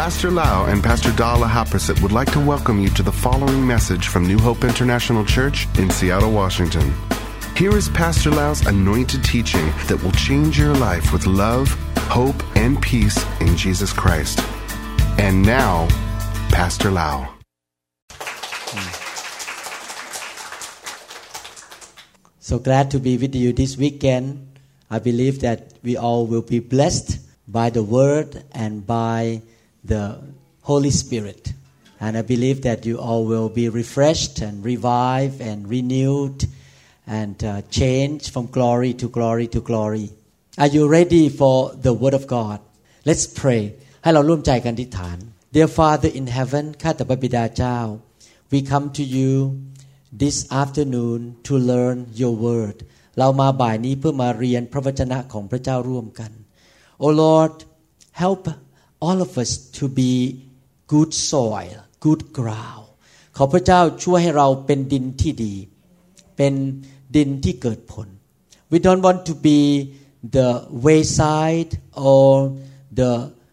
Pastor Lau and Pastor Dala Haprasit would like to welcome you to the following message from New Hope International Church in Seattle, Washington. Here is Pastor Lau's anointed teaching that will change your life with love, hope, and peace in Jesus Christ. And now, Pastor Lau. So glad to be with you this weekend. I believe that we all will be blessed by the Word and by the Holy Spirit. And I believe that you all will be refreshed and revived and renewed and changed from glory to glory to glory. Are you ready for the Word of God? Let's pray. ให้เราร่วมใจกันอธิษฐาน Dear Father in heaven ข้าแต่พระบิดาเจ้า We come to you this afternoon to learn your word เรามาบ่ายนี้เพื่อมาเรียนพระวจนะของพระเจ้าร่วมกัน Oh Lord help all of us to be good soil good ground ขอพระเจ้าช่วยให้เราเป็นดินที่ดีเป็นดินที่เกิดผล We don't want to be the wayside or the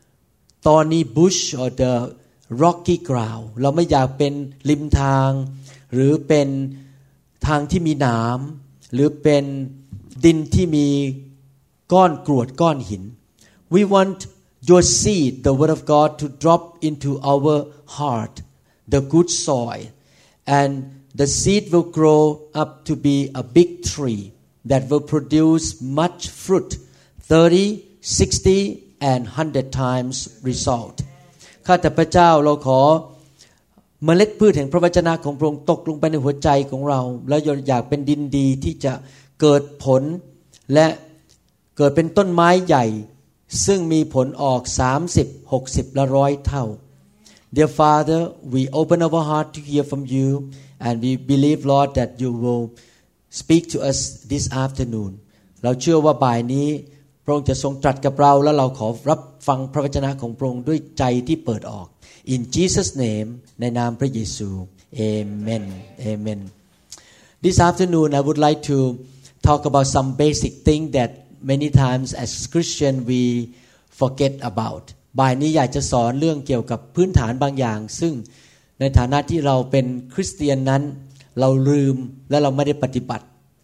thorny bush or the rocky ground เราไม่อยากเป็นริมทางหรือเป็นทางที่มีหนามหรือเป็นดินที่มีก้อนกรวดก้อนหิน We want your seed the word of God to drop into our heart the good soil and the seed will grow up to be a big tree that will produce much fruit 30 60 and 100 times result ข้าแต่พระเจ้าเราขอเมล็ดพืชแห่งพระวจนะของพระองค์ตกลงไปในหัวใจของเราแล้วอยากเป็นดินดีที่จะเกิดผลและเกิดเป็นต้นไม้ใหญ่ซึ่งมีผลออก30 60และ100เท่า Dear Father we open our heart to hear from you and we believe Lord that you will speak to us this afternoon เราเชื่อว่าบ่ายนี้พระองค์จะทรงตรัสกับเราและเราขอรับฟังพระวจนะของพระองค์ด้วยใจที่เปิดออก In Jesus name ในนามพระเยซู Amen Amen This afternoon I would like to talk about some basic thing that many times as Christian we forget about บ่ายนี้อยากจะสอนเรื่องเกี่ยวกับพื้นฐานบางอย่างซึ่งในฐานะที่เราเป็นคริสเตียนนั้นเราลืมและเราไม่ได้ปฏิบัติ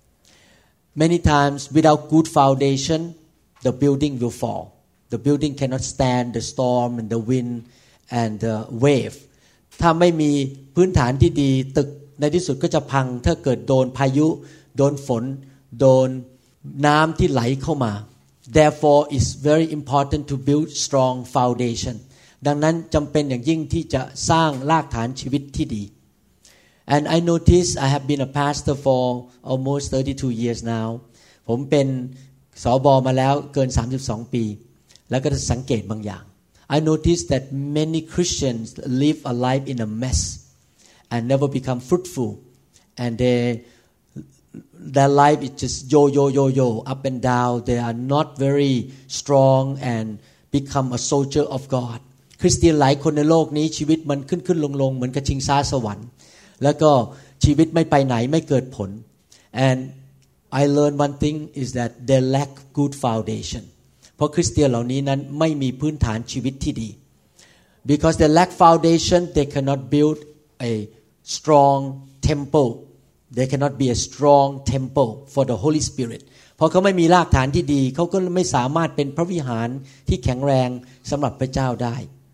Many times without good foundation the building will fall the building cannot stand the storm and the wind and the wave ถ้าไม่มีพื้นฐานที่ดีตึกในที่สุดก็จะพังถ้าเกิดโดนพายุโดนฝนโดนน้ำที่ไหลเข้ามา Therefore it's very important to build strong foundation ดังนั้นจำเป็นอย่างยิ่งที่จะสร้างรากฐานชีวิตที่ดี And I notice I have been a pastor for almost 32 years now ผมเป็นสบมาแล้วเกิน32ปีแล้วก็สังเกตบางอย่าง I noticed that many Christians live a life in a mess and never become fruitful and their life is just yo up and down they are not very strong and become a soldier of God คริสเตียนหลายคนในโลกนี้ชีวิตมันขึ้นลงเหมือนกับชิงช้าสวรรค์แล้วก็ชีวิตไม่ไปไหนไม่เกิดผล and I learned one thing is that they lack good foundation เพราะคริสเตียนเหล่านี้นั้นไม่มีพื้นฐานชีวิตที่ดี because they lack foundation they cannot build a strong temple they cannot be a strong temple for the Holy Spirit เพราะเขาไม่มีรากฐานที่ดีเขาก็ไม่สามารถเป็นพระวิหารที่แข็งแรงสำหรับพระเจ้าได้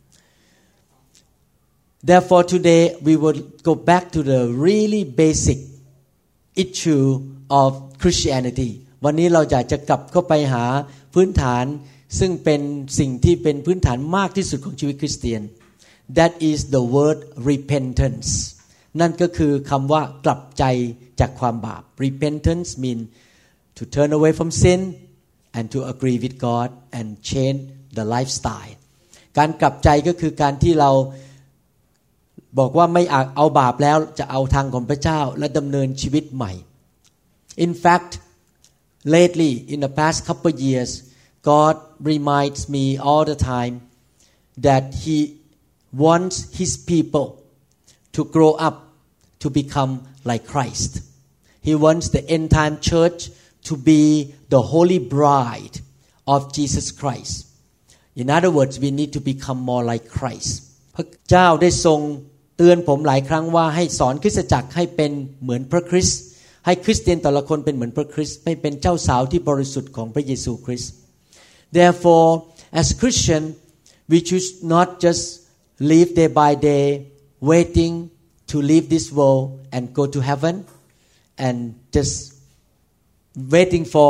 Therefore today we will go back to the really basic issue of Christianity วันนี้เราอยากจะกลับเข้าไปหาพื้นฐานซึ่งเป็นสิ่งที่เป็นพื้นฐานมากที่สุดของชีวิตคริสเตียน That is the word repentance นั่นก็คือคำว่ากลับใจจากความบาป Repentance mean to turn away from sin and to agree with God and change the lifestyle การกลับใจก็คือการที่เราบอกว่าไม่เอาบาปแล้วจะเอาทางของพระเจ้าและดำเนินชีวิตใหม่ In fact lately in the past couple of years God reminds me all the time that he wants his people to grow up to become like Christ he wants the end time church to be the holy bride of Jesus Christ In other words, we need to become more like Christ. พระเจ้าได้ทรงเตือนผมหลายครั้งว่าให้สอนคริสตจักรให้เป็นเหมือนพระคริสต์ให้คริสเตียนแต่ละคนเป็นเหมือนพระคริสต์ไม่เป็นเจ้าสาวที่บริสุทธิ์ของพระเยซูคริสต์ Therefore, as Christian, we should not just live day by day, waiting to leave this world and go to heaven, and just waiting for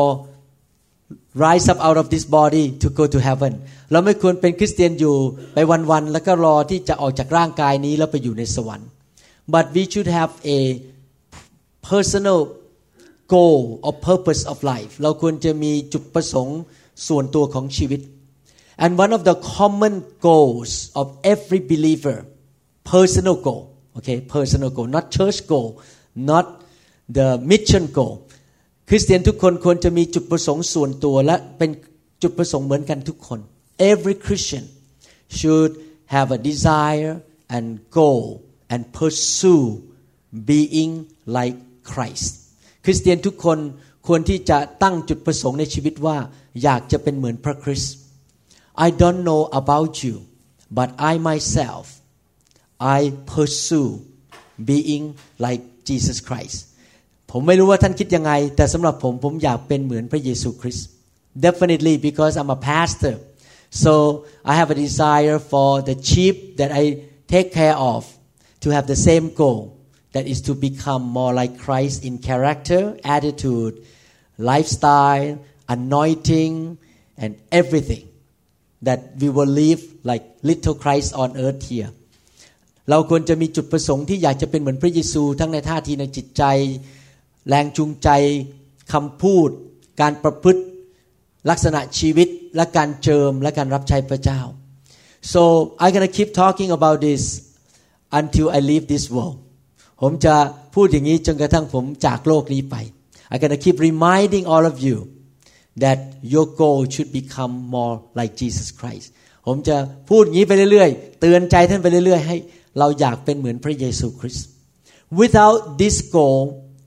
rise up out of this body to go to heaven. เราไม่ควรเป็นคริสเตียนอยู่ไปวันๆแล้วก็รอที่จะออกจากร่างกายนี้แล้วไปอยู่ในสวรรค์ But we should have a personal goal or purpose of life. เราควรจะมีจุดประสงค์ส่วนตัวของชีวิต And one of the common goals of every believer, personal goal, okay, personal goal, not church goal, not the mission goal. คริสเตียนทุกคนควรจะมีจุดประสงค์ส่วนตัวและเป็นจุดประสงค์เหมือนกันทุกคน Every Christian should have a desire and goal and pursue being like Christ คริสเตียนทุกคนควรที่จะตั้งจุดประสงค์ในชีวิตว่าอยากจะเป็นเหมือนพระคริสต์ I don't know about you but I myself I pursue being like Jesus Christ ผมไม่รู้ว่าท่านคิดยังไงแต่สำหรับผมอยากเป็นเหมือนพระเยซูคริสต์ Definitely because I'm a pastor so I have a desire for the sheep that I take care of to have the same goal that is to become more like Christ in character, attitude, lifestyle, anointing and everything that we will live like little Christ on earth here เราควรจะมีจุดประสงค์ที่อยากจะเป็นเหมือนพระเยซูทั้งในท่าทีในจิตใจแรงจูงใจคำพูดการประพฤติลักษณะชีวิตและการเจิมและการรับใช้พระเจ้า So I'm gonna keep talking about this until I leave this world ผมจะพูดอย่างนี้จนกระทั่งผมจากโลกนี้ไป I'm gonna keep reminding all of you that your goal should become more like Jesus Christ ผมจะพูดอย่างนี้ไปเรื่อยๆเตือนใจท่านไปเรื่อยๆให้เราอยากเป็นเหมือนพระเยซูคริสต์ Without this goal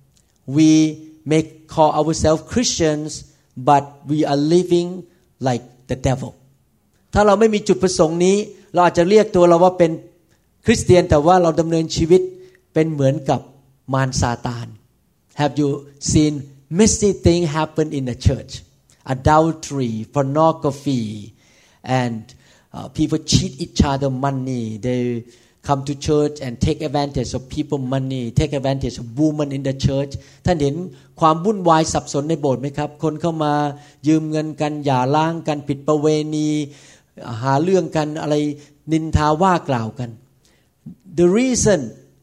we may call ourselves Christians but we are living like the devil ถ้าเราไม่มีจุดประสงค์นี้เราอาจจะเรียกตัวเราว่าเป็นคริสเตียนแต่ว่าเราดำเนินชีวิตเป็นเหมือนกับมารซาตาน Have you seen messy things happen in the church adultery pornography and people cheat each other money they come to church and take advantage of people money take advantage of women in the church ท่านเห็นความวุ่นวายสับสนในโบสถ์ไหมครับคนเข้ามายืมเงินกันหย่าร้างกันผิดประเวณีหาเรื่องกันอะไรนินทาว่ากล่าวกัน The reason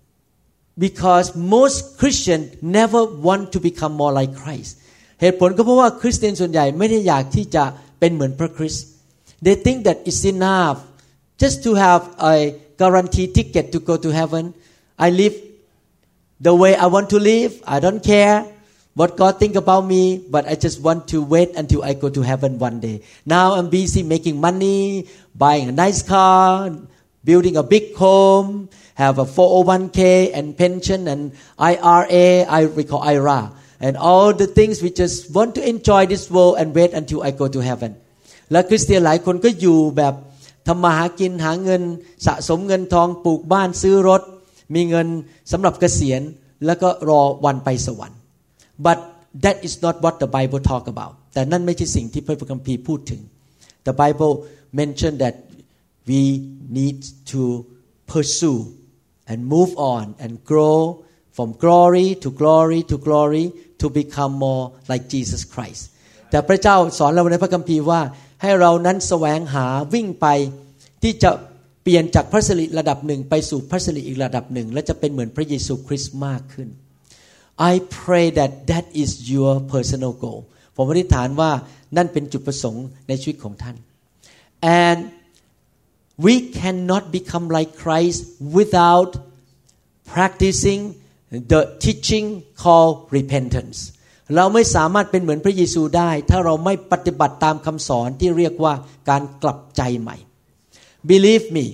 because most Christians never want to become more like Christ เหตุผลก็เพราะว่าคริสเตียนส่วนใหญ่ไม่ได้อยากที่จะเป็นเหมือนพระคริสต์ They think that it's enough just to have a guaranteed ticket to go to heaven. I live the way I want to live. I don't care what God think about me, but I just want to wait until I go to heaven one day. Now I'm busy making money, buying a nice car, building a big home, have a 401k and pension and IRA, I recall IRA, and all the things we just want to enjoy this world and wait until I go to heaven. และคริสเตียนหลายคนก็อยู่แบบทำมาหากินหาเงินสะสมเงินทองปลูกบ้านซื้อรถมีเงินสำหรับเกษียณแล้วก็รอวันไปสวรรค์ but that is not what the Bible talk about แต่นั่นไม่ใช่สิ่งที่พระคัมภีร์พูดถึง the Bible mentioned that we need to pursue and move on and grow from glory to glory to glory to become more like Jesus Christ แต่พระเจ้าสอนเราในพระคัมภีร์ว่าให้เรานั้นแสวงหาวิ่งไปที่จะเปลี่ยนจากพระสิริระดับหนึ่งไปสู่พระสิริอีกระดับหนึ่งและจะเป็นเหมือนพระเยซูคริสต์มากขึ้น I pray that that is your personal goal ผมอธิษฐานว่านั่นเป็นจุดประสงค์ในชีวิตของท่าน and we cannot become like Christ without practicing the teaching called repentanceเราไม่สามารถเป็นเหมือนพระเยซูได้ถ้าเราไม่ปฏิบัติตามคำสอนที่เรียกว่าการกลับใจใหม่ Believe me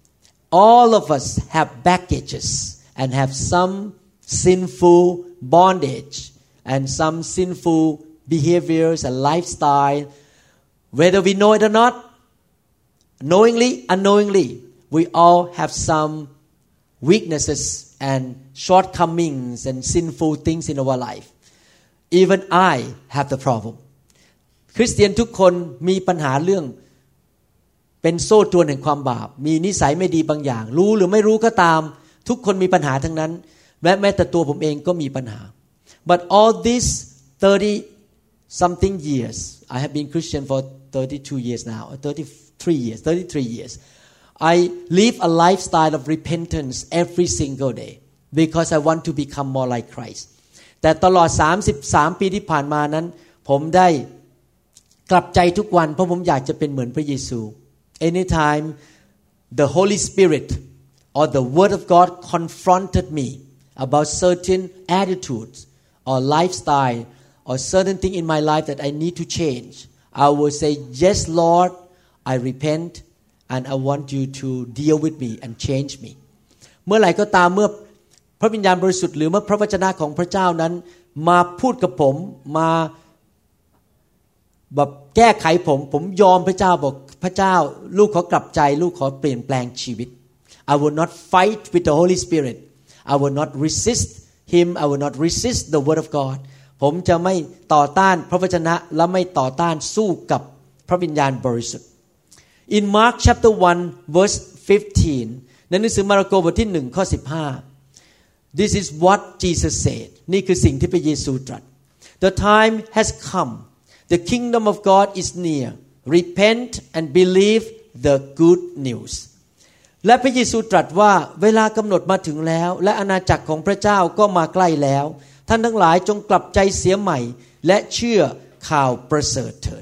all of us have baggages and have some sinful bondage and some sinful behaviors and lifestyle whether we know it or not knowingly unknowingly we all have some weaknesses and shortcomings and sinful things in our life even I have the problem คริสเตียนทุกคนมีปัญหาเรื่องเป็นโซ่ตรวนแห่งความบาปมีนิสัยไม่ดีบางอย่างรู้หรือไม่รู้ก็ตามทุกคนมีปัญหาทั้งนั้นและแม้แต่ตัวผมเองก็มีปัญหา but all these 30 something years I have been Christian for 32 years now 33 years I live a lifestyle of repentance every single day because I want to become more like Christ แต่ตลอด33ปีที่ผ่านมานั้นผมได้กลับใจทุกวันเพราะผมอยากจะเป็นเหมือนพระเยซู anytime the Holy Spirit or the Word of God confronted me about certain attitudes or lifestyle or certain thing in my life that I need to change I will say yes Lord I repent and I want you to deal with me and change me เมื่อไหร่ก็ตามเมื่อพระวิญญาณบริสุทธิ์หรือเมื่อพระวจนะของพระเจ้านั้นมาพูดกับผมมาแบบแก้ไขผมยอมพระเจ้าบอกพระเจ้าลูกขอกลับใจลูกขอเปลี่ยนแปลงชีวิต I will not fight with the Holy Spirit I will not resist him I will not resist the word of God ผมจะไม่ต่อต้านพระวจนะและไม่ต่อต้านสู้กับพระวิญญาณบริสุทธิ์ In Mark chapter 1 verse 15 ในหนังสือมาระโกบทที่1ข้อ15 This is what Jesus said นี่คือสิ่งที่พระเยซูตรัส The time has come The kingdom of God is near repent and believe the good news และพระเยซูตรัสว่าเวลากำหนดมาถึงแล้วและอาณาจักรของพระเจ้าก็มาใกล้แล้วท่านทั้งหลายจงกลับใจเสียใหม่และเชื่อข่าวประเสริฐเถิด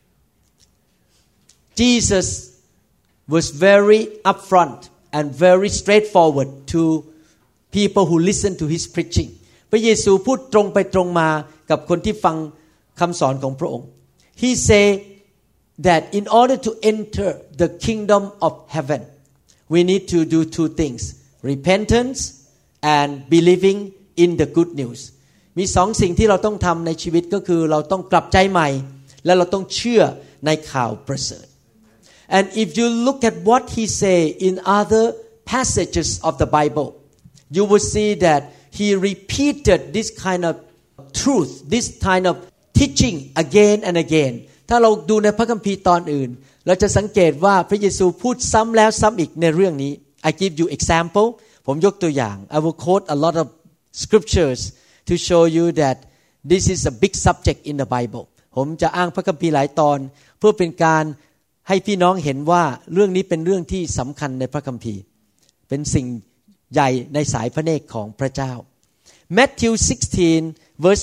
Jesus was very upfront and very straightforward to people who listen to his preaching พระเยซูพูดตรงไปตรงมากับคนที่ฟังคำสอนของพระองค์ He said that in order to enter the kingdom of heaven we need to do two things repentance and believing in the good news มีสองสิ่งที่เราต้องทำในชีวิตก็คือเราต้องกลับใจใหม่และเราต้องเชื่อในข่าวประเสริฐ and if you look at what he say in other passages of the Bible you will see that he repeated this kind of truth this kind of teaching again and again ถ้าเราดูในพระคัมภีร์ตอนอื่นเราจะสังเกตว่าพระเยซูพูดซ้ำแล้วซ้ำอีกในเรื่องนี้ I give you example ผมยกตัวอย่าง I will quote a lot of scriptures to show you that this is a big subject in the Bible ผมจะอ้างพระคัมภีร์หลายตอนเพื่อเป็นการให้พี่น้องเห็นว่าเรื่องนี้เป็นเรื่องที่สำคัญในพระคัมภีร์เป็นสิ่งใหญ่ในสายพระเนตรของพระเจ้า Matthew 16 verse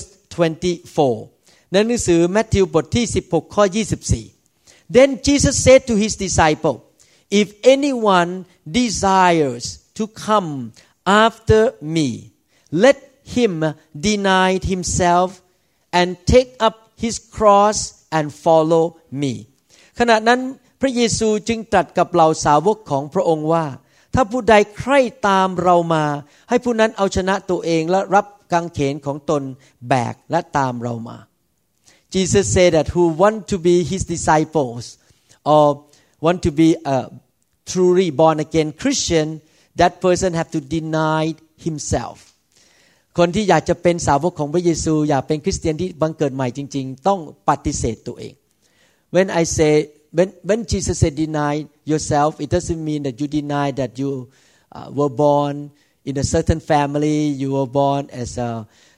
24 ในหนังสือมัทธิวบทที่16ข้อ24 Then Jesus said to his disciple If anyone desires to come after me let him deny himself and take up his cross and follow me ขณะนั้นพระเยซูจึงตรัสกับเหล่าสาวกของพระองค์ว่าถ้าผู้ใดใคร่ตามเรามาให้ผู้นั้นเอาชนะตัวเองและรับกางเขนของตนแบกและตามเรามา Jesus said that who want to be his disciples or want to be a truly born again Christian that person have to deny himself คนที่อยากจะเป็นสาวกของพระเยซูอยากเป็นคริสเตียนที่บังเกิดใหม่จริงๆต้องปฏิเสธตัวเอง When I say when Jesus said deny yourself it doesn't mean that you deny that you were born in a certain family you were born as a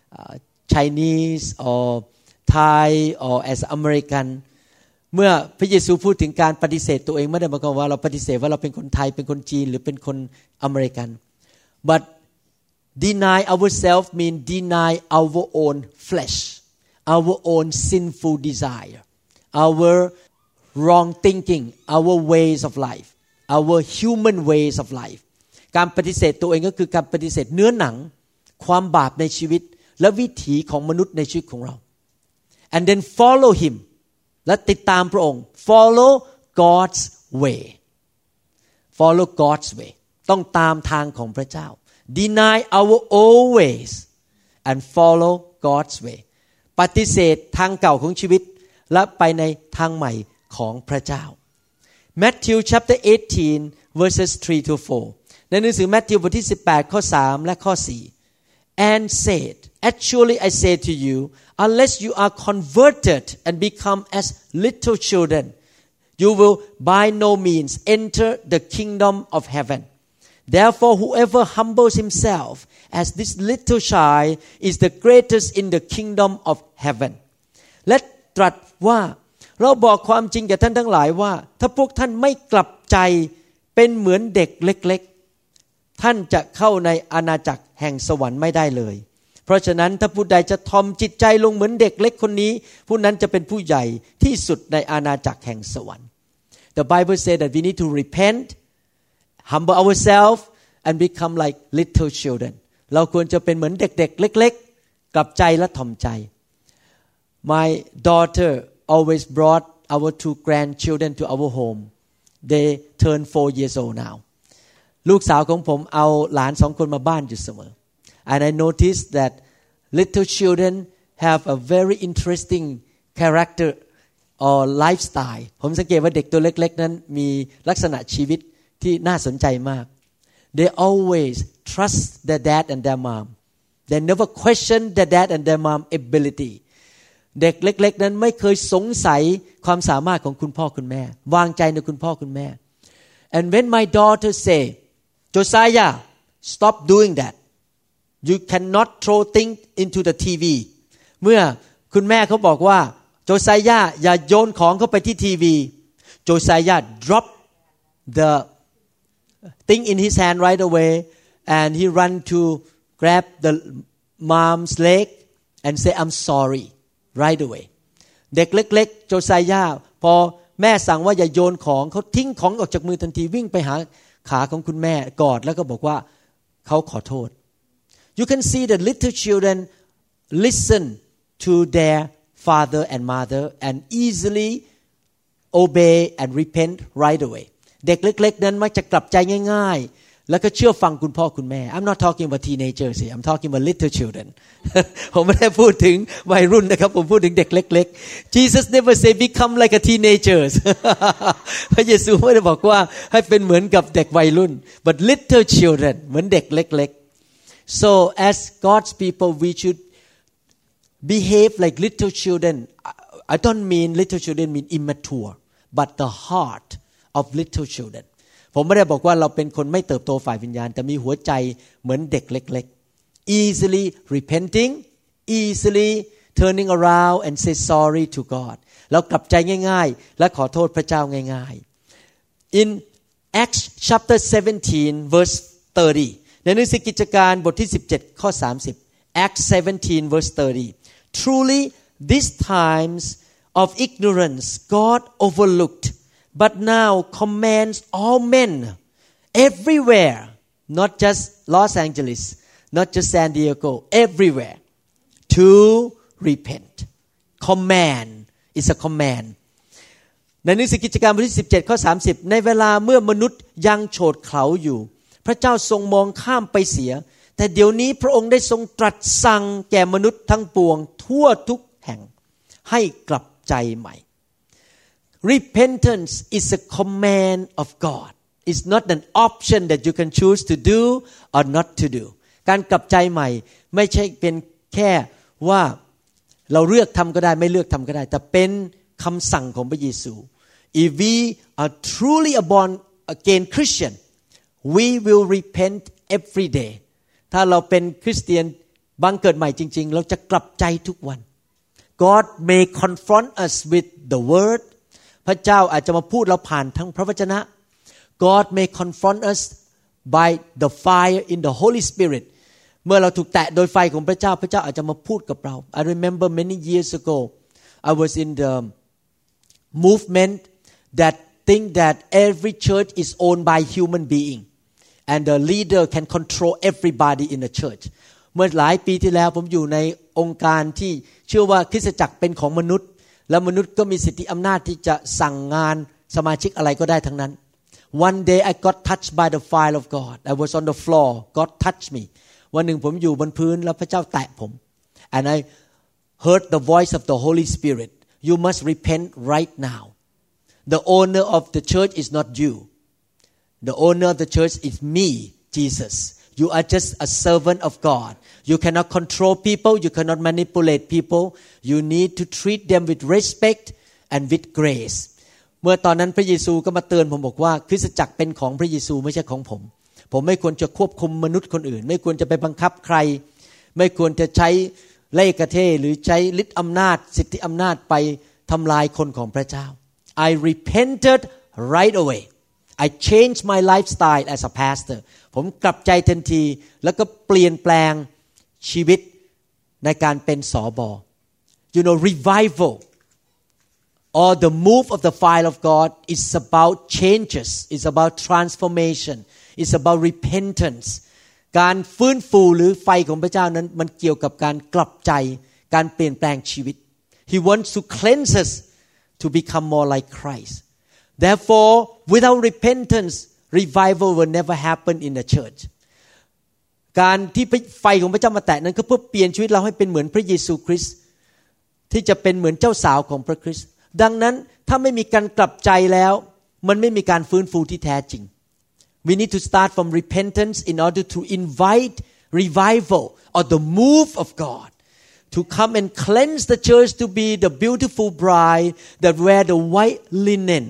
Chinese or Thai or as American เมื่อพระเยซูพูดถึงการปฏิเสธตัวเองไม่ได้หมายความว่าเราปฏิเสธว่าเราเป็นคนไทยเป็นคนจีนหรือเป็นคนอเมริกัน but deny ourselves mean deny our own flesh our own sinful desire our wrong thinking our ways of life our human ways of life การปฏิเสธตัวเองก็คือการปฏิเสธเนื้อหนังความบาปในชีวิตและวิถีของมนุษย์ในชีวิตของเรา and then follow him และติดตามพระองค์ follow God's way follow God's way ต้องตามทางของพระเจ้า deny our own ways and follow God's way ปฏิเสธทางเก่าของชีวิตและไปในทางใหม่ของพระเจ้า Matthew chapter 18 verses 3 to 4 ในหนังสือมัทธิวบทที่18ข้อ3และข้อ4 and said actually I say to you unless you are converted and become as little children you will by no means enter the kingdom of heaven therefore whoever humbles himself as this little child is the greatest in the kingdom of heaven และตรัสว่าเราบอกความจริงแก่ท่านทั้งหลายว่าถ้าพวกท่านไม่กลับใจเป็นเหมือนเด็กเล็กๆท่านจะเข้าในอาณาจักรแห่งสวรรค์ไม่ได้เลยเพราะฉะนั้นถ้าผู้ใดจะทอมจิตใจลงเหมือนเด็กเล็กคนนี้ผู้นั้นจะเป็นผู้ใหญ่ที่สุดในอาณาจักรแห่งสวรรค์ The Bible says that we need to repent humble ourselves and become like little children เราควรจะเป็นเหมือนเด็กๆเล็กๆกลับใจและถ่อมใจ My daughter always brought our 2 grandchildren to our home they turn 4 years old now ลูกสาวของผมเอาหลาน2คนมาบ้านอยู่เสมอ and I noticed that little children have a very interesting character or lifestyle ผมสังเกตว่าเด็กตัวเล็กๆนั้นมีลักษณะชีวิตที่น่าสนใจมาก they always trust their dad and their mom they never question their dad and their mom abilityเด็กเล็กๆนั้นไม่เคยสงสัยความสามารถของคุณพ่อคุณแม่วางใจในคุณพ่อคุณแม่ and when my daughter say Josiah stop doing that you cannot throw things into the TV เมื่อคุณแม่เขาบอกว่าโจไซยาอย่าโยนของเข้าไปที่ทีวีโจไซยา drop the thing in his hand right away and he run to grab the mom's leg and say I'm sorry right away เด็กเล็กๆโจไซยาพอแม่สั่งว่าอย่าโยนของเขาทิ้งของออกจากมือทันทีวิ่งไปหาขาของคุณแม่กอดแล้วก็บอกว่าเขาขอโทษ You can see that little children listen to their father and mother and easily obey and repent right away เด็กเล็กๆนั้นมักจะกลับใจง่ายๆแล้วก็เชื่อฟังคุณพ่อคุณแม่ I'm not talking about teenagers here I'm talking about little children ผมไม่ได้พูดถึงวัยรุ่นนะครับผมพูดถึงเด็กเล็กๆ Jesus never say become like a teenagers พระเยซูไม่ได้บอกว่าให้เป็นเหมือนกับเด็กวัยรุ่น but little children เหมือนเด็กเล็กๆ so as God's people we should behave like little children I don't mean little children mean immature but the heart of little children ผมไม่ได้บอกว่าเราเป็นคนไม่เติบโตฝ่ายวิญญาณแต่มีหัวใจเหมือนเด็กเล็กๆ easily repenting easily turning around and say sorry to God เรากลับใจง่ายๆและขอโทษพระเจ้าง่ายๆ in Acts chapter 17 verse 30 ในหนังสือกิจการบทที่17ข้อ30 Acts 17 verse 30 Truly these times of ignorance God overlooked but now commands all men everywhere not just Los Angeles not just San Diego everywhere to repent command is a command ในหนังสือกิจการบทที่17ข้อ30ในเวลาเมื่อมนุษย์ยังโฉดเขลาอยู่พระเจ้าทรงมองข้ามไปเสียแต่เดี๋ยวนี้พระองค์ได้ทรงตรัสสั่งแก่มนุษย์ทั้งปวงทั่วทุกแห่งให้กลับใจใหม่ Repentance is a command of God. It's not an option that you can choose to do or not to do. การกลับใจใหม่ไม่ใช่เป็นแค่ว่าเราเลือกทำก็ได้ไม่เลือกทำก็ได้แต่เป็นคำสั่งของพระเยซู If we are truly a born again Christian, we will repent every day. ถ้าเราเป็นคริสเตียนบังเกิดใหม่จริงๆเราจะกลับใจทุกวัน God may confront us with the word พระเจ้าอาจจะมาพูดเราผ่านทั้งพระวจนะ God may confront us by the fire in the Holy Spirit เมื่อเราถูกแตะโดยไฟของพระเจ้าพระเจ้าอาจจะมาพูดกับเรา I remember many years ago I was in the movement that think that every church is owned by human being and the leader can control everybody in the church เมื่อหลายปีที่แล้วผมอยู่ในองค์การที่เชื่อว่าคริสตจักรเป็นของมนุษย์และมนุษย์ก็มีสิทธิอำนาจที่จะสั่งงานสมาชิกอะไรก็ได้ทั้งนั้น One day I got touched by the fire of God I was on the floor God touched me วันหนึ่งผมอยู่บนพื้นแล้วพระเจ้าแตะผม and I heard the voice of the Holy Spirit You must repent right now the owner of the church is not you. The owner of the church is me, Jesus. You are just a servant of God. You cannot control people. You cannot manipulate people. You need to treat them with respect and with grace. เมื่อตอนนั้นพระเยซูก็มาเตือนผมบอกว่าคริสตจักรเป็นของพระเยซูไม่ใช่ของผมไม่ควรจะควบคุมมนุษย์คนอื่นไม่ควรจะไปบังคับใครไม่ควรจะใช้เล่ห์กระเทหรือใช้ฤทธิ์อำนาจสิทธิอำนาจไปทำลายคนของพระเจ้า I repented right away. I changed my lifestyle as a pastor. ผมกลับใจทันทีแล้วก็เปลี่ยนแปลงชีวิตในการเป็นสบ You know, revival or the move of the fire of God is about changes. It's about transformation. It's about repentance. การฟื้นฟูหรือไฟของพระเจ้านั้นมันเกี่ยวกับการกลับใจการเปลี่ยนแปลงชีวิต He wants to cleanse us to become more like Christ. Therefore, without repentance, revival will never happen in the church. การที่ไฟของพระเจ้ามาแตะนั้นก็เพื่อเปลี่ยนชีวิตเราให้เป็นเหมือนพระเยซูคริสต์ที่จะเป็นเหมือนเจ้าสาวของพระคริสต์ดังนั้นถ้าไม่มีการกลับใจแล้วมันไม่มีการฟื้นฟูที่แท้จริง We need to start from repentance in order to invite revival or the move of God to come and cleanse the church to be the beautiful bride that wear the white linen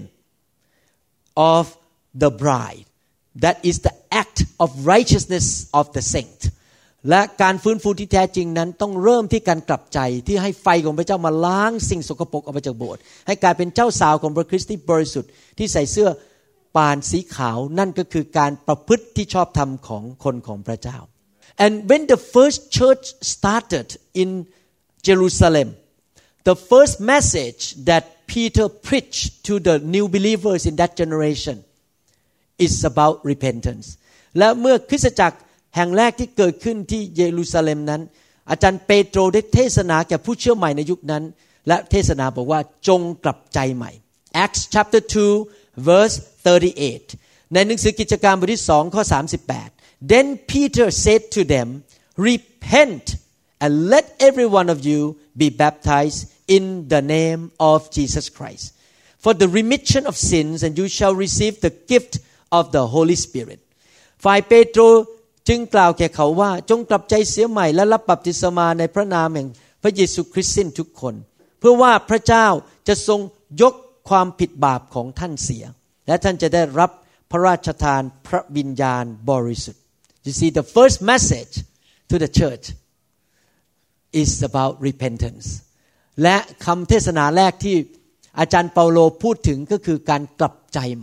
of the bride. That is the act of righteousness of the saint. และการฟื้นฟูที่แท้จริงนั้นต้องเริ่มที่การกลับใจที่ให้ไฟของพระเจ้ามาล้างสิ่งสกปรกออกไปจากโบสถ์ให้กลายเป็นเจ้าสาวของพระคริสต์ที่บริสุทธิ์ที่ใส่เสื้อปานสีขาวนั่นก็คือการประพฤติที่ชอบธรรมของคนของพระเจ้า And when the first church started in Jerusalem, the first message that Peter preached to the new believers in that generation is about repentance. และเมื่อคริสตจักรแห่งแรกที่เกิดขึ้นที่เยรูซาเล็มนั้นอาจารย์เปโตรได้เทศนาแก่ผู้เชื่อใหม่ในยุคนั้นและเทศนาบอกว่าจงกลับใจใหม่ Acts chapter 2 verse 38 ในหนังสือกิจการบทที่2ข้อ38 Then Peter said to them, Repent and let every one of you be baptized in the name of Jesus Christ for the remission of sins, and you shall receive the gift of the Holy Spirit. ฝ่ายเปโตรจึงกล่าวแก่เขาว่าจงกลับใจเสียใหม่และรับบัพติศมาในพระนามแห่งพระเยซูคริสต์สิ้นทุกคนเพื่อว่าพระเจ้าจะทรงยกความผิดบาปของท่านเสียและท่านจะได้รับพระราชทานพระวิญญาณบริสุทธิ์ You see, the first message to the church is about repentance. และคำเทศนาแรกที่อาจารย์เปาโลพูดถึงก็คือการกลับใจใหม่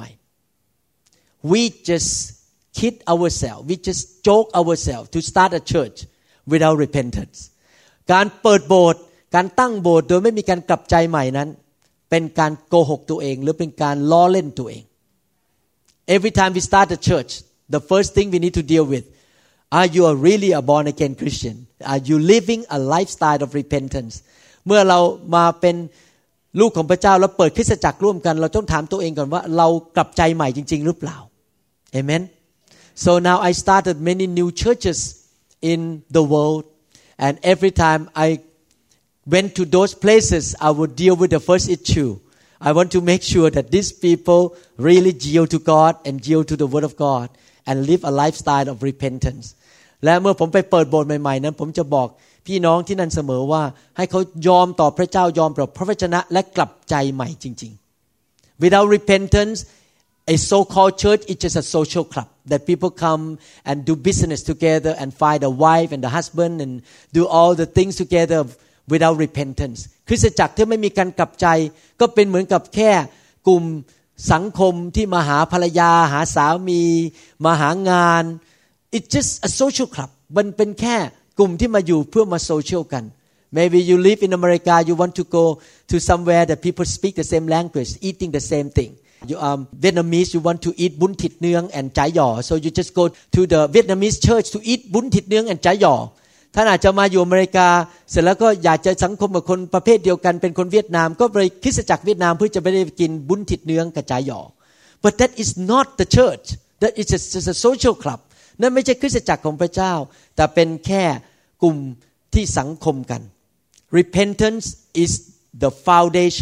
We just kid ourselves, we just joke ourselves to start a church without repentance. การเปิดโบสถ์การตั้งโบสถ์โดยไม่มีการกลับใจใหม่นั้นเป็นการโกหกตัวเองหรือเป็นการล้อเล่นตัวเอง Every time we start a church, the first thing we need to deal with, are you really a born again Christian? Are you living a lifestyle of repentance? เมื่อเรามาเป็นลูกของพระเจ้าแล้วเปิดคริสตจักรร่วมกันเราต้องถามตัวเองก่อนว่าเรากลับใจใหม่จริงๆหรือเปล่า Amen. So now I started many new churches in the world, and every time I went to those places I would deal with the first issue. I want to make sure that these people really yield to God and yield to the word of God and live a lifestyle of repentance. และเมื่อผมไปเปิดโบสถ์ใหม่ๆนั้นผมจะบอกพี่น้องที่นั่นเสมอว่าให้เขายอมต่อพระเจ้ายอมต่อพระวจนะและกลับใจใหม่จริงๆ Without repentance, a so-called church is just a social club that people come and do business together and find a wife and a husband and do all the things together without repentance. คริสตจักรที่ไม่มีการกลับใจก็เป็นเหมือนกับแค่กลุ่มสังคมที่มาหาภรรยาหาสามีมาหางาน It's just a social club มันเป็นแค่กลุ่มที่มาอยู่เพื่อมาโซเชียลกัน Maybe you live in America, you want to go to somewhere that people speak the same language, eating the same thing. You are Vietnamese, you want to eat bún thịt nướng and chả giò, so you just go to the Vietnamese church to eat bún thịt nướng and chả giò. ท่านอาจจะมาอยู่อเมริกาเสร็จแล้วก็อยากจะสังคมกับคนประเภทเดียวกันเป็นคนเวียดนามก็ไปคริสตจักรเวียดนามเพื่อจะไปได้กินบุญถิดเนื้องกับจ่ายหย่อ But that is not the church. That is just a social club. นั่นไม่ใช่คริสตจักรของพระเจ้าแต่เป็นแค่กลุ่มที่สังคมกัน Repentance is the foundation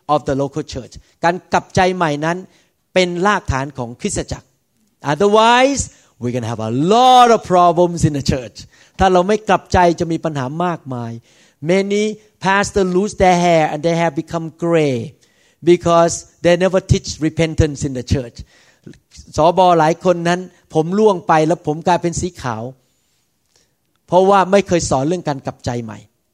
of the local church การกลับใจใหม่นั้นเป็นรากฐานของคริสตจักร otherwise we're going to have a lot of problems in the church ถ้าเราไม่กลับใจจะมีปัญหามากมาย many pastors lose their hair and their hair become gray because they never teach repentance in the church สบหลายคนนั้นผมร่วงไปแล้วผมกลายเป็นสีขาวเพราะว่าไม่เคยสอนเรื่องการกลับใจใหม่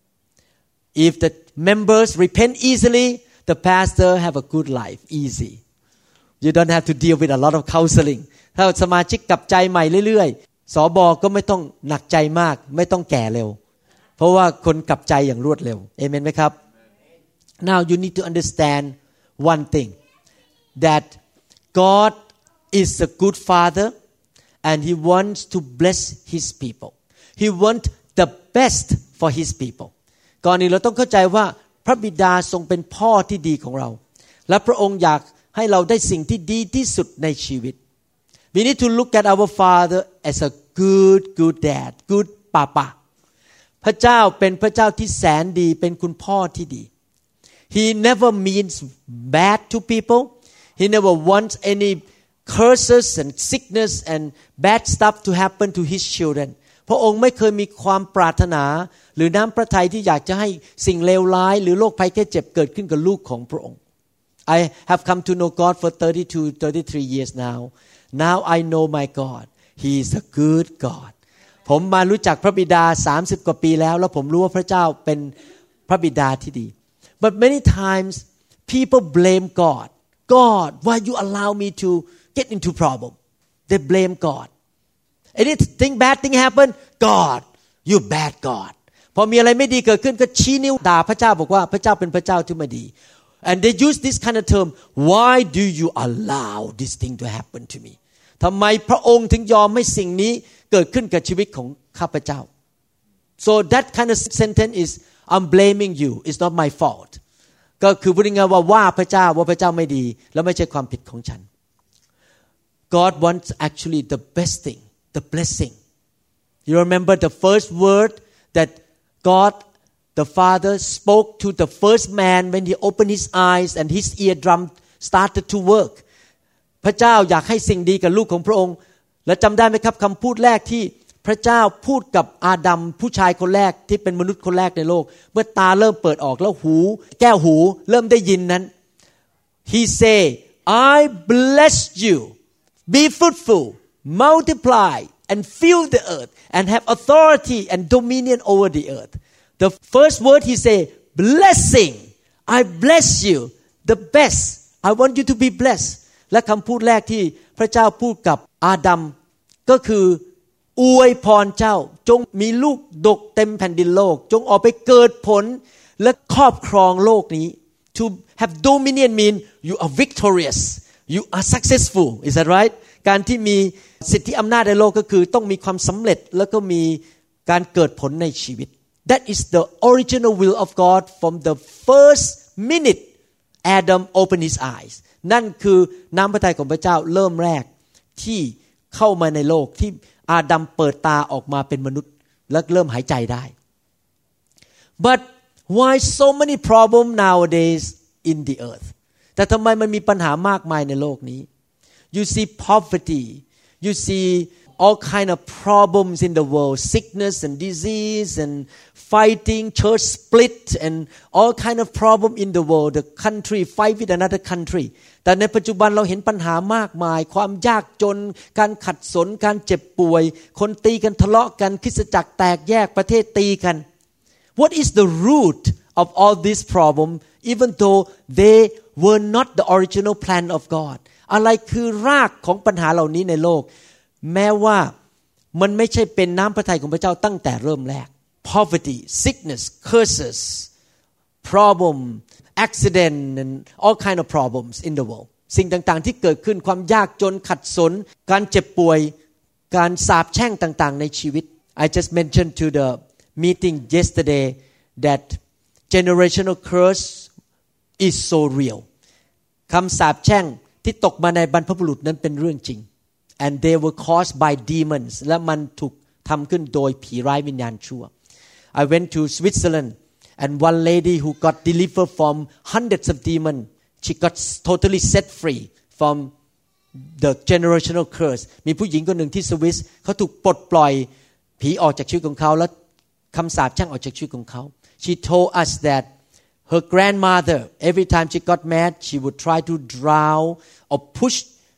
if the members repent easily the pastor have a good life easy you don't have to deal with a lot of counseling ถ้าสมาชิกกลับใจใหม่เรื่อยๆสบก็ไม่ต้องหนักใจมากไม่ต้องแก่เร็วเพราะว่าคนกลับใจอย่างรวดเร็วเอเมนไหมครับ now you need to understand one thing that God is a good father and he wants to bless his people he wants the best for his people ก่อนนี้เราต้องเข้าใจว่าพระบิดาทรงเป็นพ่อที่ดีของเราและพระองค์อยากให้เราได้สิ่งที่ดีที่สุดในชีวิต we need to look at our father as a good dad good papa พระเจ้าเป็นพระเจ้าที่แสนดีเป็นคุณพ่อที่ดี he never means bad to people he never wants any curses and sickness and bad stuff to happen to his children พระองค์ไม่เคยมีความปรารถนาหรือน้ำพระทัยที่อยากจะให้สิ่งเลวร้ายหรือโรคภัยแค่เจ็บเกิดขึ้นกับลูกของพระองค์ I have come to know God for 33 years now I know my God He is a good God ผมมารู้จักพระบิดา30กว่าปีแล้วผมรู้ว่าพระเจ้าเป็นพระบิดาที่ดี but many times people blame God why you allow me to get into problem they blame God anything bad thing happen God you bad God พอมีอะไรไม่ดีเกิดขึ้นก็ชี้นิ้วด่าพระเจ้าบอกว่าพระเจ้าเป็นพระเจ้าที่ไม่ดี and they use this kind of term why do you allow this thing to happen to me ทำไมพระองค์ถึงยอมให้สิ่งนี้เกิดขึ้นกับชีวิตของข้าพเจ้า so that kind of sentence is I'm blaming you it's not my fault ก็คือพูดง่ายๆว่าพระเจ้าว่าพระเจ้าไม่ดีแล้วไม่ใช่ความผิดของฉัน God wants actually the best thing the blessing you remember the first word that God the Father spoke to the first man when he opened his eyes and his eardrum started to work พระเจ้าอยากให้สิ่งดีกับลูกของพระองค์และจำได้ไหมครับคำพูดแรกที่พระเจ้าพูดกับอาดัมผู้ชายคนแรกที่เป็นมนุษย์คนแรกในโลกเมื่อตาเริ่มเปิดออกแล้วแก้วหูเริ่มได้ยินนั้น He say I bless you be fruitful multiply and fill the earth and have authority and dominion over the earth the first word he say blessing I bless you the best I want you to be blessed และคำพูดแรกที่พระเจ้าพูดกับอาดัมก็คืออวยพรเจ้าจงมีลูกดกเต็มแผ่นดินโลกจงออกไปเกิดผลและครอบครองโลกนี้ to have dominion mean you are victorious you are successful is that right การที่มีสิทธิอำนาจในโลกก็คือต้องมีความสำเร็จแล้วก็มีการเกิดผลในชีวิต that is the original will of God from the first minute Adam opened his eyes นั่นคือน้ำพระทัยของพระเจ้าเริ่มแรกที่เข้ามาในโลกที่อาดัมเปิดตาออกมาเป็นมนุษย์และเริ่มหายใจได้ but why so many problems nowadays in the earth แต่ทำไมมันมีปัญหามากมายในโลกนี้ you see poverty you see all kind of problems in the world sickness and disease and fighting church split and all kind of problem in the world the country fight with another country แต่ในปัจจุบันเราเห็นปัญหามากมายความยากจนการขัดสนการเจ็บป่วยคนตีกันทะเลาะกันคริสตจักรแตกแยกประเทศตีกัน what is the root of all this problem even though they were not the original plan of God อะไรคือรากของปัญหาเหล่านี้ในโลกแม้ว่ามันไม่ใช่เป็นน้ำพระทัยของพระเจ้าตั้งแต่เริ่มแรก poverty sickness curses problem accident and all kind of problems in the world สิ่งต่างๆที่เกิดขึ้นความยากจนขัดสนการเจ็บป่วยการสาปแช่งต่างๆในชีวิต I just mentioned to the meeting yesterday that generational curse is so real คำสาปแช่งที่ตกมาในบรรพบุรุษนั้นเป็นเรื่องจริง and they were caused by demons และมันถูกทำขึ้นโดยผีร้ายวิญญาณชั่ว I went to Switzerland and one lady who got delivered from hundreds of demons she got totally set free from the generational curse มีผู้หญิงคนหนึ่งที่สวิสเขาถูกปลดปล่อยผีออกจากชีวิตของเขาและคำสาปแช่งออกจากชีวิตของเขา She told us that her grandmother every time she got mad she would try to drown or push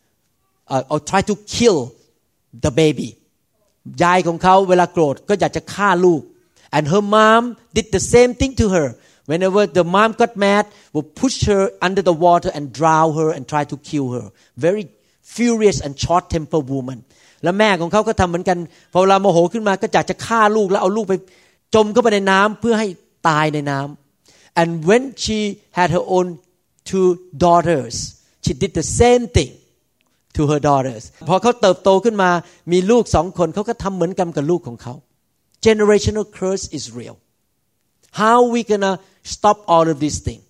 or try to kill the baby ยายของเขาเวลาโกรธก็อยากจะฆ่าลูก and her mom did the same thing to her whenever the mom got mad would push her under the water and drown her and try to kill her very furious and short tempered woman และแม่ของเขาก็ทำเหมือนกันพอเวลาโมโหขึ้นมาก็อยากจะฆ่าลูกแล้วเอาลูกไปจมเข้าไปในน้ำเพื่อให้ตายในน้ำ and when she had her own two daughters she did the same thing to her daughters พอเขาเติบโตขึ้นมามีลูก2คนเขาก็ทำเหมือนกันกับลูกของเขา generational curse is real how we gonna stop all of these things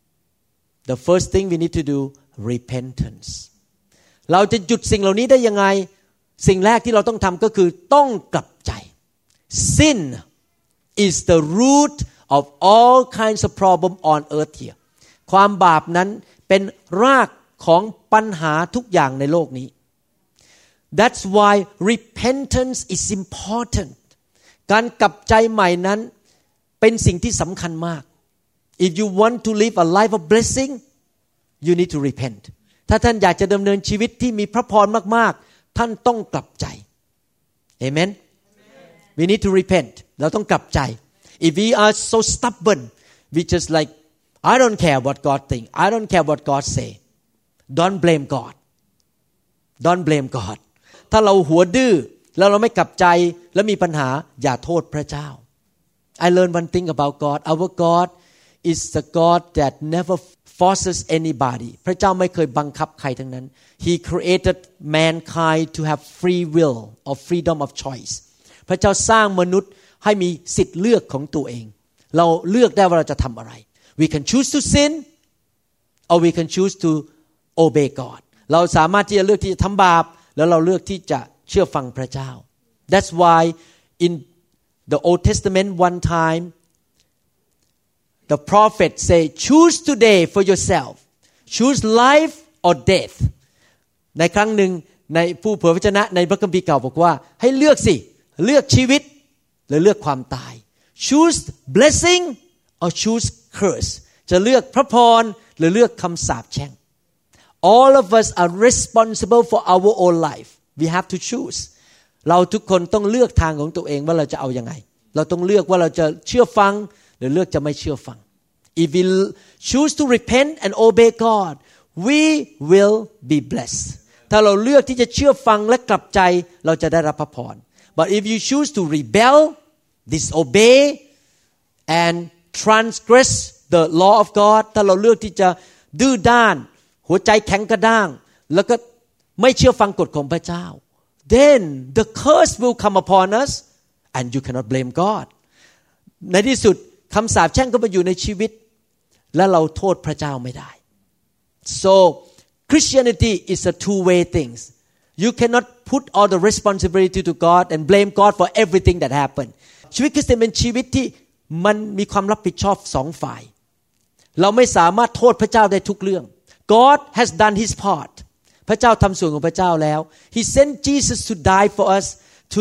the first thing we need to do repentance เราจะหยุดสิ่งเหล่านี้ได้ยังไงสิ่งแรกที่เราต้องทำก็คือต้องกลับใจ sin is the root of all kinds of problem on earth here ความบาปนั้นเป็นรากของปัญหาทุกอย่างในโลกนี้ That's why repentance is important การกลับใจใหม่นั้นเป็นสิ่งที่สำคัญมาก If you want to live a life of blessing you need to repent ถ้าท่านอยากจะดำเนินชีวิตที่มีพระพรมากๆท่านต้องกลับใจ Amen We need to repent เราต้องกลับใจ If we are so stubborn we just like I don't care what God think I don't care what God say Don't blame God Don't blame God ถ้าเราหัวดื้อแล้วเราไม่กลับใจแล้วมีปัญหาอย่าโทษพระเจ้า I learned one thing about God Our God is the God that never forces anybody พระเจ้าไม่เคยบังคับใครทั้งนั้น He created mankind to have free will or freedom of choice พระเจ้าสร้างมนุษย์ให้มีสิทธิ์เลือกของตัวเองเราเลือกได้ว่าเราจะทำอะไร We can choose to sin or we can choose to obey God เราสามารถที่จะเลือกที่จะทำบาปแล้วเราเลือกที่จะเชื่อฟังพระเจ้า That's why in the Old Testament one time the prophet say choose today for yourself choose life or death ในครั้งหนึ่งในผู้เผยพระวจนะในพระคัมภีร์เก่าบอกว่าให้เลือกสิเลือกชีวิตหรือเลือกความตาย choose blessing or choose curse จะเลือกพระพรหรือเลือกคำสาปแช่งAll of us are responsible for our own life. We have to choose. เราทุกคนต้องเลือกทางของตัวเองว่าเราจะเอายังไงเราต้องเลือกว่าเราจะเชื่อฟังหรือเลือกจะไม่เชื่อฟัง If we choose to repent and obey God, we will be blessed. ถ้าเราเลือกที่จะเชื่อฟังและกลับใจเราจะได้รับพระพร But if you choose to rebel, disobey, and transgress the law of God, ถ้าเราเลือกที่จะดื้อด้านหัวใจแข็งกระด้างแล้วก็ไม่เชื่อฟังกฎของพระเจ้า then the curse will come upon us and you cannot blame God ในที่สุดคำสาปแช่งก็มาอยู่ในชีวิตและเราโทษพระเจ้าไม่ได้ so Christianity is a two-way thing you cannot put all the responsibility to God and blame God for everything that happened ชีวิตคริสเตียนเป็นชีวิตที่มันมีความรับผิดชอบสองฝ่ายเราไม่สามารถโทษพระเจ้าได้ทุกเรื่องGod has done his part พระเจ้าทำส่วนของพระเจ้าแล้ว He sent Jesus to die for us to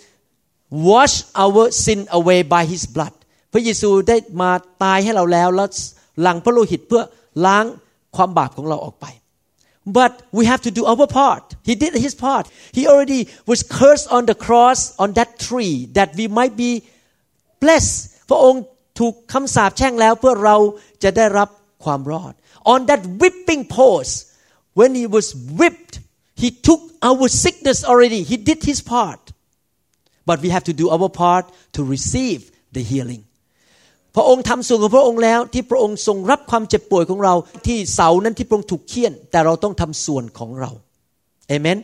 wash our sin away by his blood พระเยซูได้มาตายให้เราแล้วแล้วหลั่งพระโลหิตเพื่อล้างความบาปของเราออกไป But we have to do our part He did his part He already was cursed on the cross on that tree that we might be blessed พระองค์ถูกคำสาปแช่งแล้วเพื่อเราจะได้รับความรอดOn that whipping post, when he was whipped, he took our sickness already. He did his part. But we have to do our part to receive the healing. พระองค์ทำส่วนของพระองค์แล้วที่พระองค์ทรงรับความเจ็บป่วยของเราที่เสานั้นที่พระองค์ถูกเฆี่ยนแต่เราต้องทำส่วนของเรา Amen.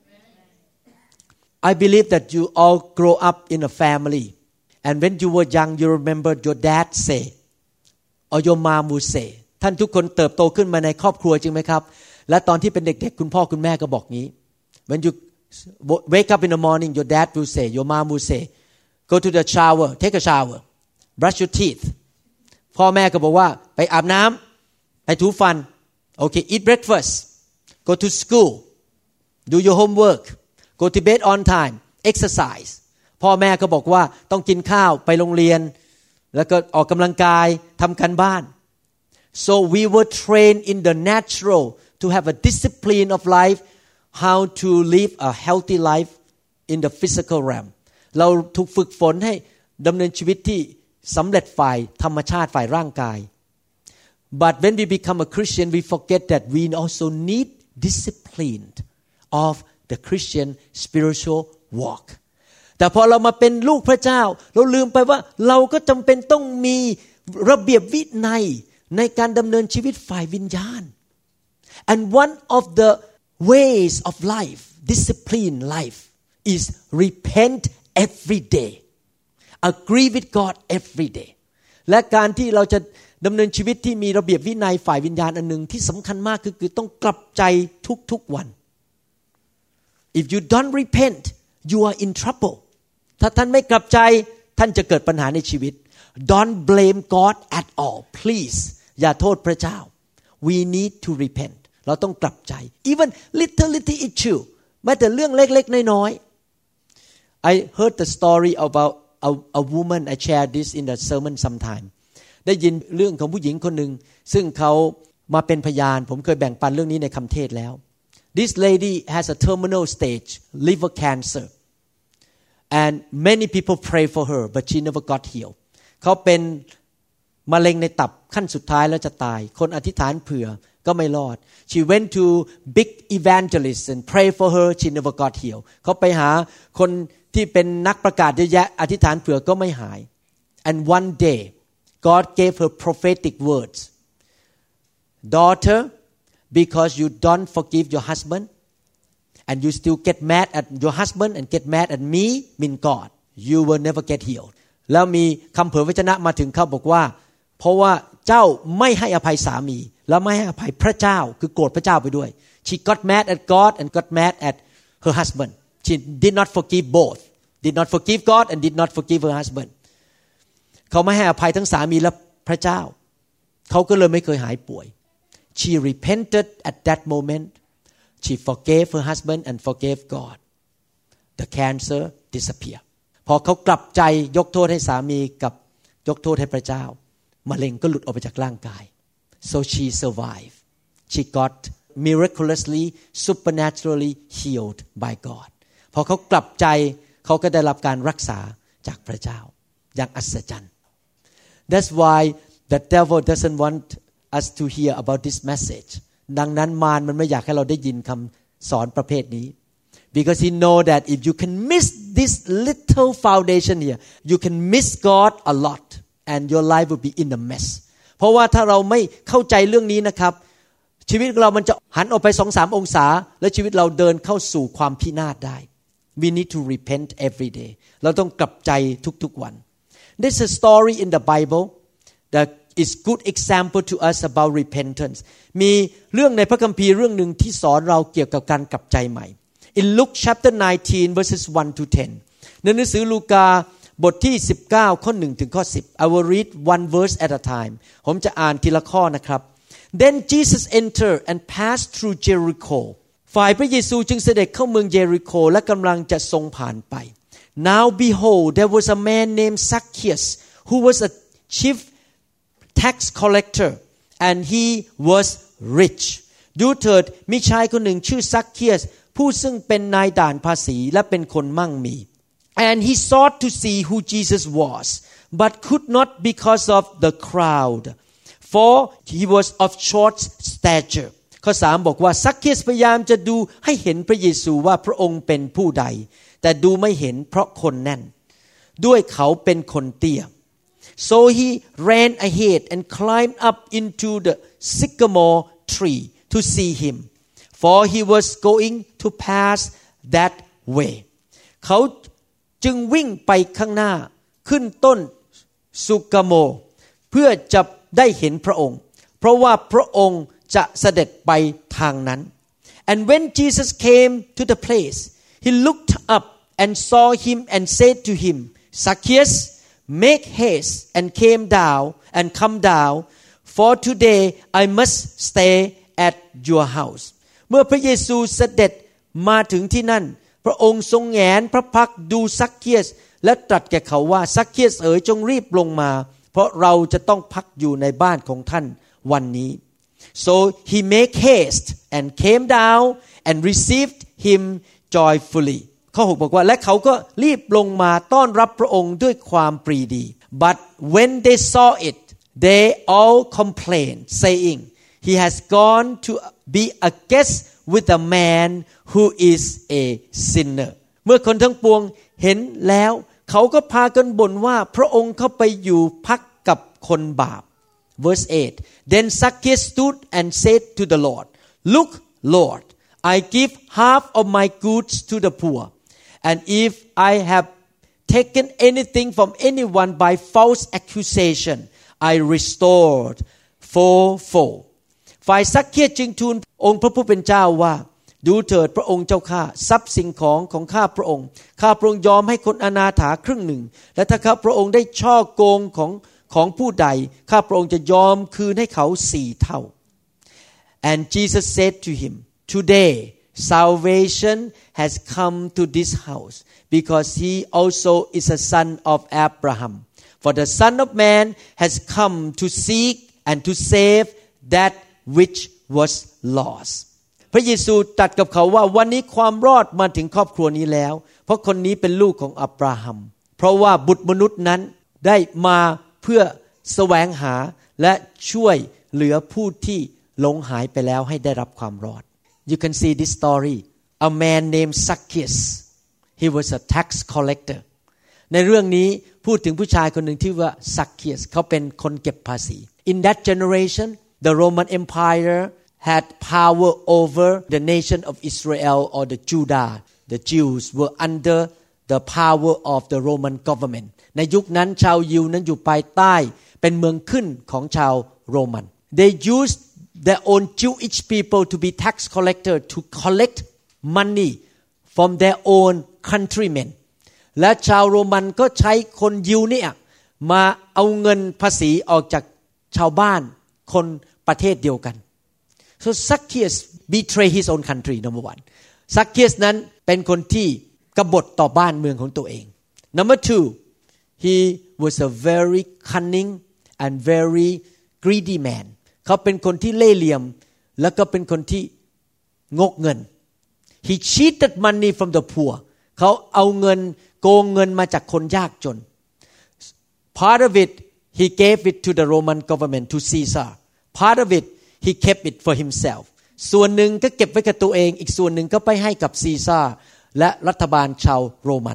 I believe that you all grow up in a family, and when you were young, you remember your dad say, or your mom would say.ท่านทุกคนเติบโตขึ้นมาในครอบครัวจริงไหมครับและตอนที่เป็นเด็กๆคุณพ่อคุณแม่ก็บอกงี้ When you wake up in the morning your dad will say your mom will say go to the shower take a shower brush your teeth พ่อแม่ก็บอกว่าไปอาบน้ำไปถูฟันโอเค eat breakfast go to school do your homework go to bed on time exercise พ่อแม่ก็บอกว่าต้องกินข้าวไปโรงเรียนแล้วก็ออกกำลังกายทำการบ้าน so we were trained in the natural to have a discipline of life how to live a healthy life in the physical realm เราถูกฝึกฝนให้ดำเนินชีวิตที่สำเร็จฝ่ายธรรมชาติฝ่ายร่างกาย but when we become a Christian we forget that we also need discipline of the Christian spiritual walk แต่พอเรามาเป็นลูกพระเจ้าเราลืมไปว่าเราก็จำเป็นต้องมีระเบียบวินัยในการดำเนินชีวิตฝ่ายวิญญาณ and one of the ways of life discipline life is repent every day agree with God every day และการที่เราจะดำเนินชีวิตที่มีระเบียบวินัยฝ่ายวิญญาณอันหนึ่งที่สำคัญมากคือต้องกลับใจทุกๆวัน if you don't repent you are in trouble ถ้าท่านไม่กลับใจท่านจะเกิดปัญหาในชีวิต don't blame God at all please อย่าโทษพระเจ้า we need to repent เราต้องกลับใจ even little issue แม้แต่เรื่องเล็กๆน้อยๆ I heard the story about a woman I shared this in the sermon sometime ได้ยินเรื่องของผู้หญิงคนหนึ่งซึ่งเขามาเป็นพยานผมเคยแบ่งปันเรื่องนี้ในคำเทศแล้ว This lady has a terminal stage liver cancer and many people pray for her but she never got healed เขาเป็นมะเร็งในตับขั้นสุดท้ายแล้วจะตายคนอธิษฐานเผื่อก็ไม่รอด She went to big evangelists and pray for her she never got healed เขาไปหาคนที่เป็นนักประกาศเยอะแยะอธิษฐานเผื่อก็ไม่หาย and one day God gave her prophetic words daughter because you don't forgive your husband and you still get mad at your husband and get mad at me mean God you will never get healed แล้วมีคำเผยพระวจนะมาถึงเขาบอกว่าเพราะว่าเจ้าไม่ให้อภัยสามีและไม่ให้อภัยพระเจ้าคือโกรธพระเจ้าไปด้วย She got mad at God and got mad at her husband She did not forgive both did not forgive God and did not forgive her husband เขาไม่ให้อภัยทั้งสามีและพระเจ้าเขาก็เลยไม่เคยหายป่วย She repented at that moment She forgave her husband and forgave God the cancer disappeared พอเขากลับใจยกโทษให้สามีกับยกโทษให้พระเจ้ามะเร็งก็หลุดออกไปจากร่างกาย so she survived she got miraculously supernaturally healed by God พอเขากลับใจเขาก็ได้รับการรักษาจากพระเจ้าอย่างอัศจรรย์ That's why the devil doesn't want us to hear about this message ดังนั้นมารมันไม่อยากให้เราได้ยินคำสอนประเภทนี้ because he know that if you can miss this little foundation here you can miss God a lot and your life will be in a mess เพราะว่าถ้าเราไม่เข้าใจเรื่องนี้นะครับชีวิตเรามันจะหันออกไป 2-3 องศาและชีวิตเราเดินเข้าสู่ความพินาศได้ We need to repent every day เราต้องกลับใจทุกๆวัน There's a story in the Bible that is good example to us about repentance มีเรื่องในพระคัมภีร์เรื่องหนึ่งที่สอนเราเกี่ยวกับการกลับใจใหม่ In Luke chapter 19 verses 1 to 10 ในหนังสือลูกาบทที่19ข้อ1ถึงข้อ10 I will read one verse at a time ผมจะอ่านทีละข้อนะครับ Then Jesus entered and passed through Jericho ฝ่ายพระเยซูจึงเสด็จเข้าเมืองเยริโคและกำลังจะทรงผ่านไป Now behold there was a man named Zacchaeus who was a chief tax collector and he was rich ดูเถิดมีชายคนหนึ่งชื่อซักเคียสผู้ซึ่งเป็นนายด่านภาษีและเป็นคนมั่งมี and he sought to see who Jesus was but could not because of the crowd for he was of short stature ข้อ3บอกว่าซักเคียสพยายามจะดูให้เห็นพระเยซูว่าพระองค์เป็นผู้ใดแต่ดูไม่เห็นเพราะคนแน่นด้วยเขาเป็นคนเตี้ย so he ran ahead and climbed up into the sycamore tree to see him for he was going to pass that way เขาจึงวิ่งไปข้างหน้าขึ้นต้นสุกโมเพื่อจะได้เห็นพระองค์เพราะว่าพระองค์จะเสด็จไปทางนั้น and when Jesus came to the place he looked up and saw him and said to him Zacchaeus make haste and come down for today I must stay at your house เมื่อพระเยซูเสด็จมาถึงที่นั่นพระองค์ทรงแงนพระพักตร์ดูซักเคียสและตรัสแก่เขาว่าซักเคียสเอ๋ยจงรีบลงมาเพราะเราจะต้องพักอยู่ในบ้านของท่านวันนี้ so he make haste and came down and received him joyfully ข้อ 6 บอกว่าและเขาก็รีบลงมาต้อนรับพระองค์ด้วยความปรีดี but when they saw it they all complained saying he has gone to be a guest with a man who is a sinner เมื่อคนทั้งปวงเห็นแล้วเขาก็พากันบ่นว่าพระองค์เข้าไปอยู่พักกับคนบาป verse 8 then Zacchaeus stood and said to the Lord look Lord I give half of my goods to the poor and if I have taken anything from anyone by false accusation I restored fourfold ฝ่ายซักเคียสจึงทูลองค์พระผู้เป็นเจ้าว่าดูเถิดพระองค์เจ้าข้าทรัพย์สิ่งของข้าพระองค์ยอมให้คนอนาถาครึ่งหนึ่งและถ้าข้าพระองค์ได้ช่อโกงของผู้ใดข้าพระองค์จะยอมคืนให้เขา4 เท่า and Jesus said to him today salvation has come to this house because he also is a son of Abraham for the Son of Man has come to seek and to save that which was lost พระเยซูตรัสกับเขาว่าวันนี้ความรอดมาถึงครอบครัวนี้แล้วเพราะคนนี้เป็นลูกของอับราฮัมเพราะว่าบุตรมนุษย์นั้นได้มาเพื่อแสวงหาและช่วยเหลือผู้ที่หลงหายไปแล้วให้ได้รับความรอด You can see this story a man named Zacchaeus he was a tax collector ในเรื่องนี้พูดถึงผู้ชายคนหนึ่งที่ว่า Zacchaeus เขาเป็นคนเก็บภาษี In that generation the Roman Empire had power over the nation of Israel or the Judah. The Jews were under the power of the Roman government. ในยุคนั้นชาวยิวนั้นอยู่ภายใต้เป็นเมืองขึ้นของชาวโรมัน They used their own Jewish people to be tax collector to collect money from their own countrymen. และชาวโรมันก็ใช้คนยิวเนี่ยมาเอาเงินภาษีออกจากชาวบ้านคนประเทศเดียวกันSo Zacchaeus betrayed his own country number 1 Zacchaeus นั้นเป็นคนที่กบฏต่อบ้านเมืองของตัวเอง Number 2 he was a very cunning and very greedy man เขาเป็นคนที่เล่ห์เหลี่ยมแล้วก็เป็นคนที่งกเงิน He cheated money from the poor เขาเอาเงินโกงเงินมาจากคนยากจน Part of it he gave it to the Roman government to Caesar Part of it he kept it for himself ส่วนหนึ่งก็เก็บไว้กับตัวเองอีกส่วนหนึ่งก็ไปให้กับซีซ่าและรัฐบาลชาวโรมัน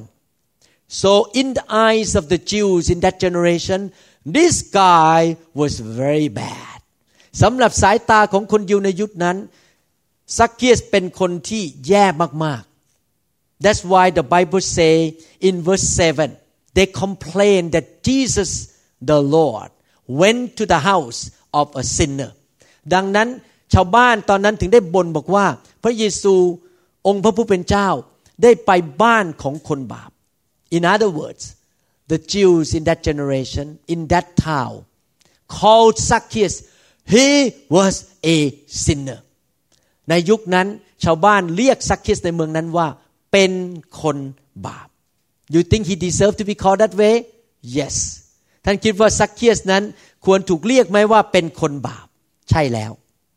so in the eyes of the Jews in that generation this guy was very bad สำหรับสายตาของคนยิวในยุคนั้นซักเคียสเป็นคนที่แย่มากๆ that's why the Bible say in verse 7 they complained that Jesus the Lord went to the house of a sinnerดังนั้นชาวบ้านตอนนั้นถึงได้บ่นบอกว่าพระเยซูองค์พระผู้เป็นเจ้าได้ไปบ้านของคนบาป In other words the Jews in that generation in that town called Zacchaeus he was a sinner ในยุคนั้นชาวบ้านเรียกซักเคียสในเมืองนั้นว่าเป็นคนบาป You think he deserved to be called that way? Yes ท่านคิดว่าซักเคียสนั้นควรถูกเรียกไหมว่าเป็นคนบาปใช่แล้ว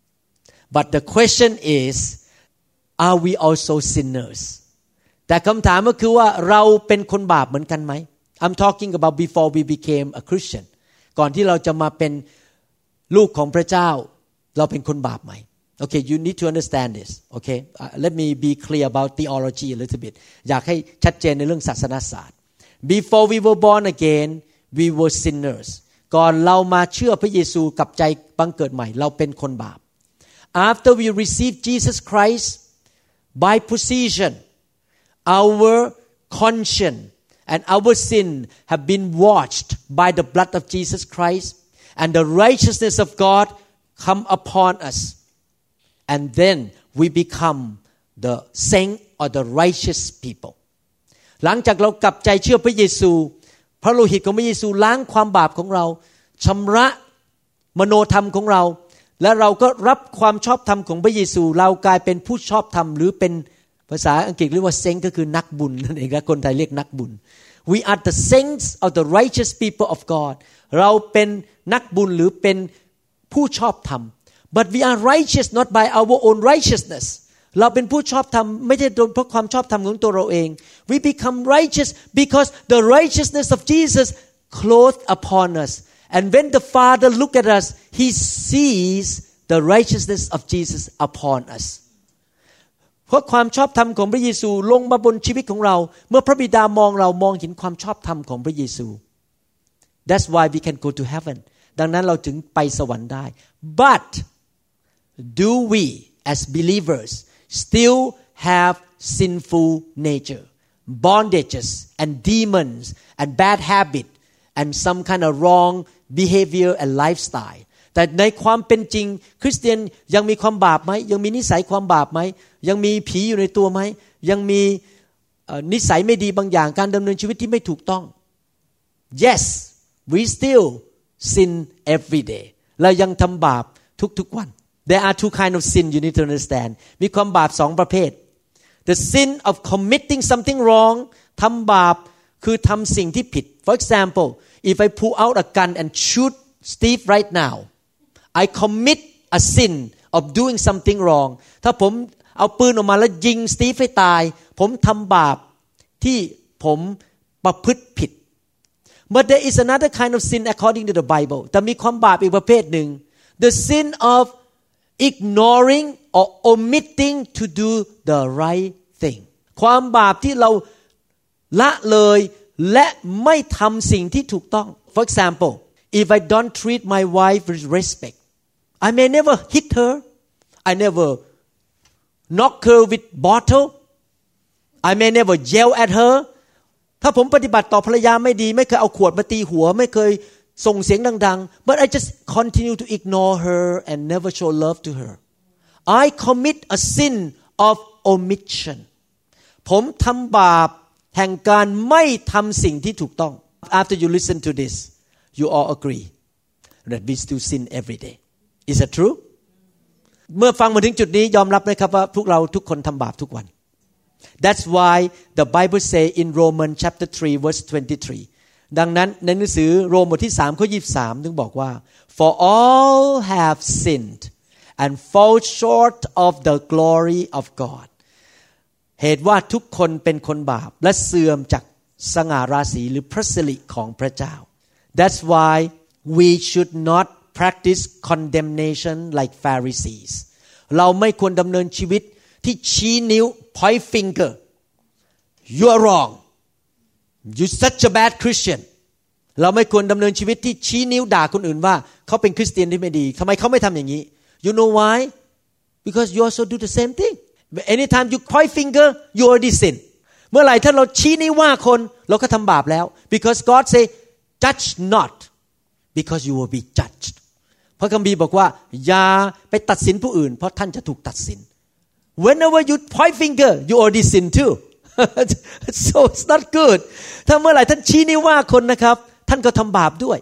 But the question is are we also sinners แต่คำถามก็คือว่าเราเป็นคนบาปเหมือนกันไหม I'm talking about before we became a Christian ก่อนที่เราจะมาเป็นลูกของพระเจ้าเราเป็นคนบาปไหม Okay you need to understand this Okay let me be clear about theology a little bit อยากให้ชัดเจนในเรื่องศาสนศาสตร์ Before we were born again we were sinnersก่อนเรามาเชื่อพระเยซูกับใจบังเกิดใหม่เราเป็นคนบาป After we received Jesus Christ by position our conscience and our sin have been washed by the blood of Jesus Christ and the righteousness of God come upon us and then we become the saint or the righteous people หลังจากเรากลับใจเชื่อพระเยซูพระโลหิตของพระเยซูล้างความบาปของเราชำระมโนธรรมของเราและเราก็รับความชอบธรรมของพระเยซูเรากลายเป็นผู้ชอบธรรมหรือเป็นภาษาอังกฤษเรียกว่าเซนต์ก็คือนักบุญนั่นเองและคนไทยเรียกนักบุญ We are the saints of the righteous people of God เราเป็นนักบุญหรือเป็นผู้ชอบธรรม But we are righteous not by our own righteousness เราเป็นผู้ชอบธรรมไม่ใช่เพราะความชอบธรรมของตัวเราเอง We become righteous because the righteousness of Jesus clothed upon us and when the Father look at us he sees the righteousness of Jesus upon us เพราะความชอบธรรมของพระเยซูลงมาบนชีวิตของเราเมื่อพระบิดามองเรามองเห็นความชอบธรรมของพระเยซู That's why we can go to heaven ดังนั้นเราถึงไปสวรรค์ได้ But do we as believers still have sinful nature bondages and demons and bad habit and some kind of wrong behavior and lifestyle แต่ในความเป็นจริงคริสเตียนยังมีความบาปไหมยังมีนิสัยความบาปไหมยังมีผีอยู่ในตัวไหมยังมีนิสัยไม่ดีบางอย่างการดำเนินชีวิตที่ไม่ถูกต้อง Yes we still sin every day เรายังทำบาปทุกๆวัน There are two kind of sin you need to understand มีความบาปสองประเภท The sin of committing something wrong ทำบาปคือทำสิ่งที่ผิด For example if I pull out a gun and shoot Steve right now I commit a sin of doing something wrong ถ้าผมเอาปืนออกมาแล้วยิงสตีฟให้ตายผมทำบาปที่ผมประพฤติผิด But there is another kind of sin according to the Bible แต่มีความบาปอีกประเภทหนึ่ง The sin of ignoring or omitting to do the right thing ความบาปที่เราละเลยและไม่ทำสิ่งที่ถูกต้อง For example if I don't treat my wife with respect I may never hit her I never knock her with bottle I may never yell at her ถ้าผมปฏิบัติต่อภรรยาไม่ดีไม่เคยเอาขวดมาตีหัวไม่เคยส่งเสียงดังๆ but I just continue to ignore her and never show love to her I commit a sin of omission ผมทำบาปแห่งการไม่ทำสิ่งที่ถูกต้อง After you listen to this you all agree that we still sin every day Is that true เมื่อฟังมาถึงจุดนี้ยอมรับไหมครับว่าพวกเราทุกคนทำบาปทุกวัน That's why the Bible say in Romans chapter 3 verse 23 ดังนั้นในหนังสือโรมบทที่3ข้อ23ถึงบอกว่า For all have sinned and fall short of the glory of God เหตุว่าทุกคนเป็นคนบาปและเสื่อมจากสง่าราศีหรือพระสิริของพระเจ้า That's why we should not practice condemnation like Pharisees เราไม่ควรดำเนินชีวิตที่ชี้นิ้ว point finger you are wrong you such a bad Christian เราไม่ควรดำเนินชีวิตที่ชี้นิ้วด่าคนอื่นว่าเขาเป็นคริสเตียนที่ไม่ดีทำไมเขาไม่ทำอย่างนี้ you know why because you also do the same thing anytime you point finger you already sin เมื่อไหร่ถ้าเราชี้นิ้วว่าคนเราก็ทำบาปแล้ว because God say judge not because you will be judged พระคัมภีร์บอกว่าอย่าไปตัดสินผู้อื่นเพราะท่านจะถูกตัดสิน whenever you point finger you already sin too so it's not good ถ้าเมื่อไหร่ท่านชี้นิ้วว่าคนนะครับท่านก็ทำบาปด้วย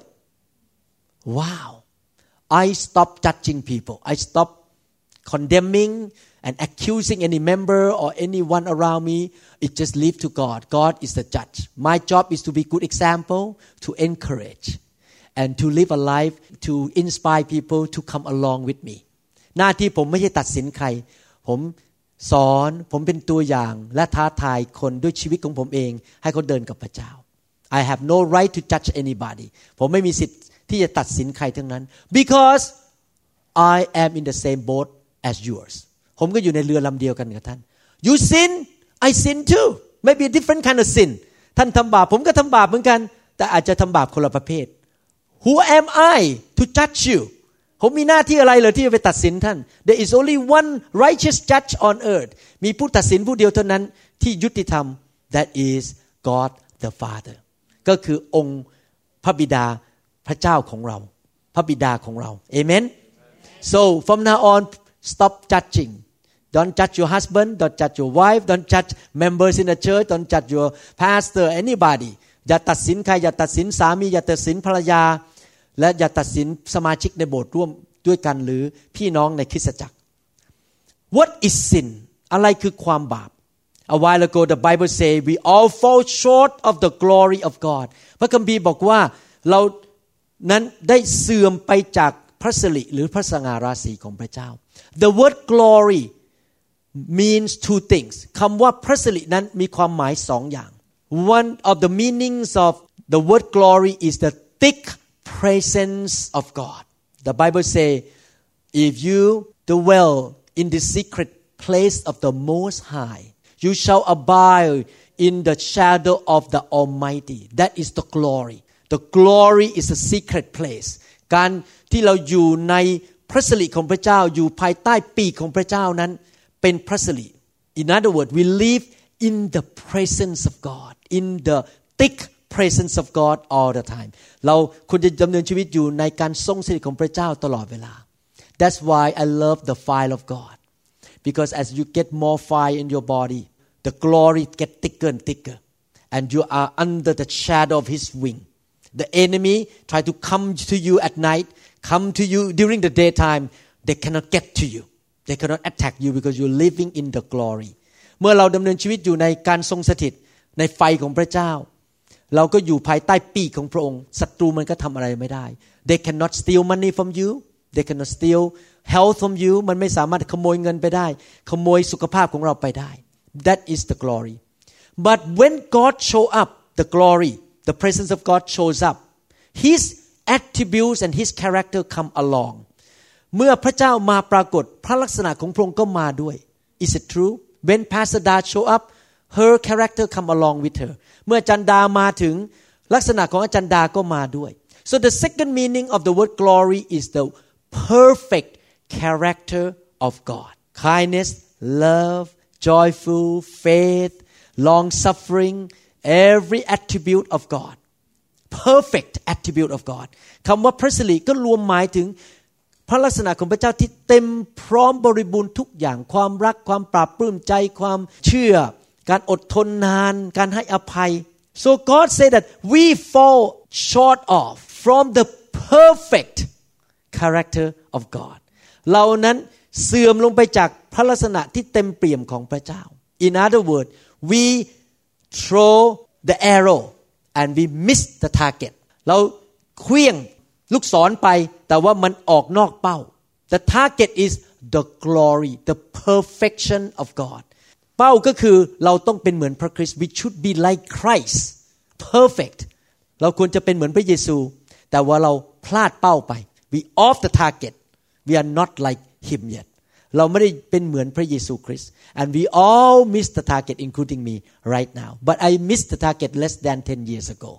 wow I stop judging people I stop condemning and accusing any member or anyone around me it just leave to God God is the judge my job is to be good example to encourage and to live a life to inspire people to come along with me หน้าที่ผมไม่ใช่ตัดสินใครผมสอนผมเป็นตัวอย่างและท้าทายคนด้วยชีวิตของผมเองให้เขาเดินกับพระเจ้า I have no right to judge anybody ผมไม่มีสิทธิ์ที่จะตัดสินใครทั้งนั้น because I am in the same boat as yours ผมก็อยู่ในเรือลำเดียวกันกับท่าน You sin I sin too maybe a different kind of sin ท่านทำบาปผมก็ทำบาปเหมือนกันแต่อาจจะทำบาปคนละประเภท Who am I to judge you ผมมีหน้าที่อะไรเหรอที่จะไปตัดสินท่าน There is only one righteous judge on earth มีผู้ตัดสินผู้เดียวเท่านั้นที่ยุติธรรม That is God the Father ก็คือองค์พระบิดาพระเจ้าของเราพระบิดาของเรา Amen So from now on stop judging Don't judge your husband don't judge your wife don't judge members in the church don't judge your pastor anybody อย่าตัดสินใครอย่าตัดสินสามีอย่าตัดสินภรรยาและอย่าตัดสินสมาชิกในโบสถ์ร่วมด้วยกันหรือพี่น้องในคริสตจักร What is sin อะไรคือความบาป A while ago the Bible say we all fall short of the glory of God พระคัมภีร์บอกว่าเรานั้นได้เสื่อมไปจากพระสิริหรือพระสง่าราศีของพระเจ้า The word glory means two things คำว่าพระสิรินั้นมีความหมายสองอย่าง One of the meanings of the word glory is the thick presence of God. The Bible say if you dwell in the secret place of the Most High you shall abide in the shadow of the Almighty. That is the glory. The glory is a secret place. การที่เราอยู่ในพระสิริของพระเจ้าอยู่ภายใต้ปีกของพระเจ้านั้นเป็นพระสิริ In other words, we live in the presence of God, in the thick presence of God all the time. เราควรจะดำเนินชีวิตอยู่ในการทรงสิริของพระเจ้าตลอดเวลา That's why I love the fire of God. Because as you get more fire in your body, the glory get thicker and thicker, and you are under the shadow of His wing. The enemy try to come to you at night, come to you during the daytime. They cannot get to you. They cannot attack you because you're living in the glory. เมื่อเราดำเนินชีวิตอยู่ในการทรงสถิตในไฟของพระเจ้าเราก็อยู่ภายใต้ปีกของพระองค์ศัตรูมันก็ทำอะไรไม่ได้ They cannot steal money from you. They cannot steal health from you. มันไม่สามารถขโมยเงินไปได้ขโมยสุขภาพของเราไปได้ That is the glory. But when God show up, the glory, the presence of God shows up. His attributes and His character come along. เมื่อพระเจ้ามาปรากฏพระลักษณะของพระองค์ก็มาด้วย Is it true? When Pastor Da show up, her character come along with her. เมื่ออาจารย์ดามาถึงลักษณะของอาจารย์ดาก็มาด้วย So the second meaning of the word glory is the perfect character of God. Kindness, love, joyful, faith, long-suffering, every attribute of God. Perfect attribute of God. คำว่าพระสิริก็รวมหมายถึงพระลักษณะของพระเจ้าที่เต็มพร้อมบริบูรณ์ทุกอย่างความรักความปราบปลื้มใจความเชื่อการอดทนนานการให้อภัย So God said that we fall short of from the perfect character of God เรานั้นเสื่อมลงไปจากพระลักษณะที่เต็มเปี่ยมของพระเจ้า In other words, we throw the arrow and we miss the target เราเคลื่องลูกศรไปแต่ว่ามันออกนอกเป้า The target is the glory, the perfection of God เป้าก็คือเราต้องเป็นเหมือนพระคริสต์ We should be like Christ, perfect เราควรจะเป็นเหมือนพระเยซูแต่ว่าเราพลาดเป้าไป We off the target, we are not like Him yet เราไม่ได้เป็นเหมือนพระเยซูคริสต์ and we all miss the target including me right now but I missed the target less than 10 years ago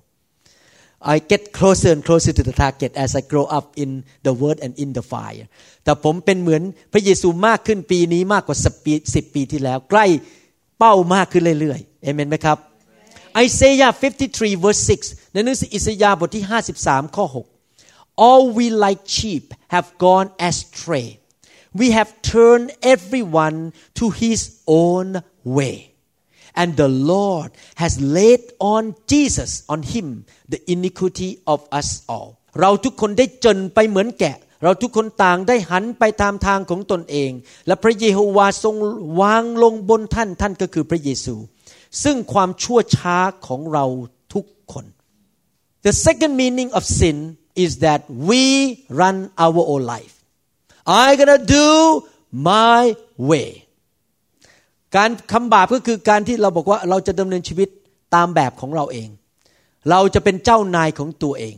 I get closer and closer to the target as I grow up in the word and in the fire แต่ผมเป็นเหมือนพระเยซูมากขึ้นปีนี้มากกว่า10 ปีที่แล้วใกล้เป้ามากขึ้นเรื่อยๆเอเมนไหมครับ Isaiah 53 verse 6 ในหนังสืออิสยาห์บทที่53ข้อ6 All we like sheep have gone astray We have turned everyone to his own way and the Lord has laid on Jesus on him the iniquity of us all เราทุกคนได้จนไปเหมือนแกะเราทุกคนต่างได้หันไปตามทางของตนเองและพระเยโฮวาทรงวางลงบนท่านก็คือพระเยซูซึ่งความชั่วช้าของเราทุกคน The second meaning of sin is that we run our own life I'm gonna do my way การคำบาปก็คือการที่เราบอกว่าเราจะดำเนินชีวิตตามแบบของเราเองเราจะเป็นเจ้านายของตัวเอง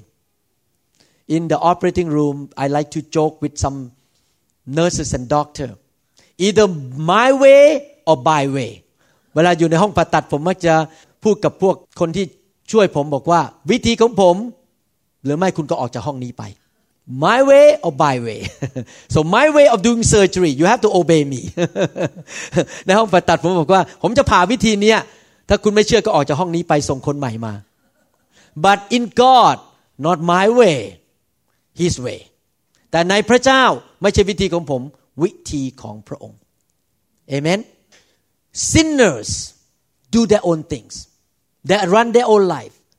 In the operating room I like to joke with some nurses and doctor either my way or by way เวลาอยู่ในห้องผ่าตัดผมมักจะพูดกับพวกคนที่ช่วยผมบอกว่าวิธีของผมหรือไม่คุณก็ออกจากห้องนี้ไปMy way or by way so my way of doing surgery you have to obey me ในห้องผ่าตัดผมบอกว่าผมจะผ่าวิธีนี้ถ้าคุณไม่เชื่อก็ออกจากห้องนี้ไปส่งคนใหม่มา but in God not my way His way แต่ในพระเจ้าไม่ใช่วิธีของผมวิธีของพระองค์ Amen Sinners do their own things they run their own life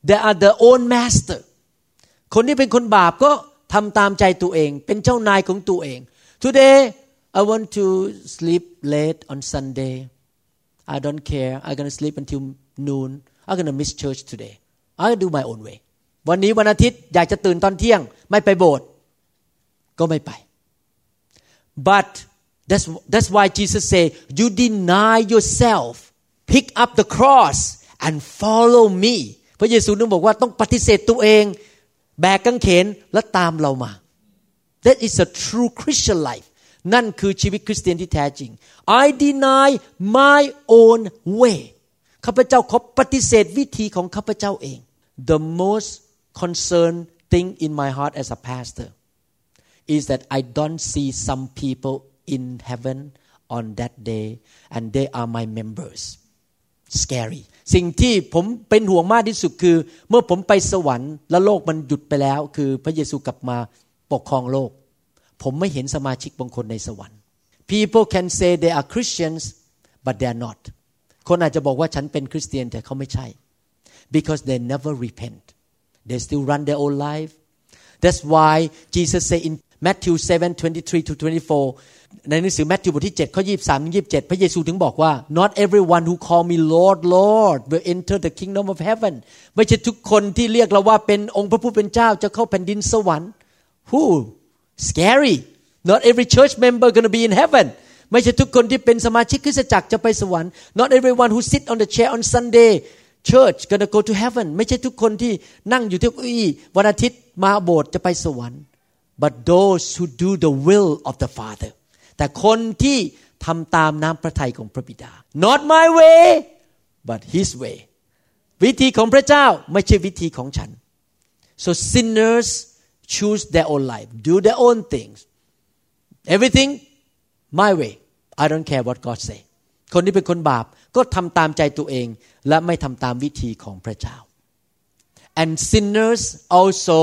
they are their own master คนที่เป็นคนบาปก็ทำตามใจตัวเองเป็นเจ้านายของตัวเอง Today I want to sleep late on Sunday I don't care I'm going to sleep until noon I'm going to miss church today I'll do my own way วันนี้วันอาทิตย์อยากจะตื่นตอนเที่ยงไม่ไปโบสถ์ก็ไม่ไป But that's why Jesus say you deny yourself pick up the cross and follow me พระเยซูนึกบอกว่าต้องปฏิเสธตัวเองแบกกางเขนและตามเรามา That is a true Christian life นั่นคือชีวิตคริสเตียนที่แท้จริง I deny my own way ข้าพเจ้าขอปฏิเสธวิธีของข้าพเจ้าเอง The most concerned thing in my heart as a pastor is that I don't see some people in heaven on that day and they are my members scary สิ่งที่ผมเป็นห่วงมากที่สุดคือเมื่อผมไปสวรรค์แล้วโลกมันหยุดไปแล้วคือพระเยซูกลับมาปกครองโลกผมไม่เห็นสมาชิกบางคนในสวรรค์ People can say they are Christians but they are not คนอาจจะบอกว่าฉันเป็นคริสเตียนแต่เขาไม่ใช่ because they never repent they still run their own life that's why Jesus say in Matthew 7:23-24 ในหนังสือมัทธิวบทที่7ข้อ23ถึง27พระเยซูถึงบอกว่า Not everyone who call me Lord Lord will enter the kingdom of heaven ไม่ใช่ทุกคนที่เรียกเราว่าเป็นองค์พระผู้เป็นเจ้าจะเข้าแผ่นดินสวรรค์ Who scary Not every church member going to be in heaven ไม่ใช่ทุกคนที่เป็นสมาชิกคริสตจักรจะไปสวรรค์ Not everyone who sit on the chair on Sunday church going to go to heaven ไม่ใช่ทุกคนที่นั่งอยู่ที่เก้าอี้วันอาทิตย์มาโบสถ์จะไปสวรรค์ But those who do the will of the Father แต่คนที่ทำตามน้ำพระทัยของพระบิดา Not my way but His way วิธีของพระเจ้าไม่ใช่วิธีของฉัน So sinners choose their own life do their own things everything my way I don't care what God say คนที่เป็นคนบาปก็ทำตามใจตัวเองและไม่ทำตามวิธีของพระเจ้า And sinners also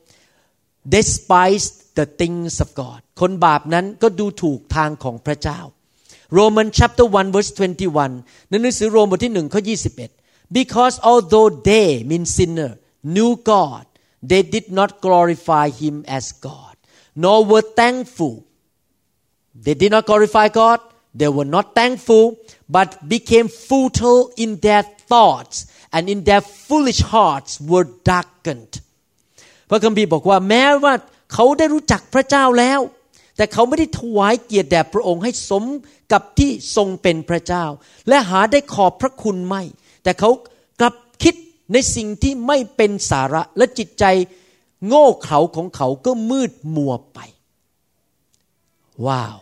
despise the things of God คนบาปนั้นก็ดูถูกทางของพระเจ้า Romans chapter 1 verse 21 ในหนังสือโรมบทที่1ข้อ21 Because although they mean sinner knew God they did not glorify him as God nor were thankful they did not glorify God they were not thankful but became futile in their thoughts and in their foolish hearts were darkened พระคัมภีร์บอกว่าแม้ว่าเขาได้รู้จักพระเจ้าแล้วแต่เขาไม่ได้ถวายเกียรติแด่พระองค์ให้สมกับที่ทรงเป็นพระเจ้าและหาได้ขอบพระคุณไม่แต่เขากลับคิดในสิ่งที่ไม่เป็นสาระและจิตใจโง่เขลาของเขาก็มืดมัวไปว้าว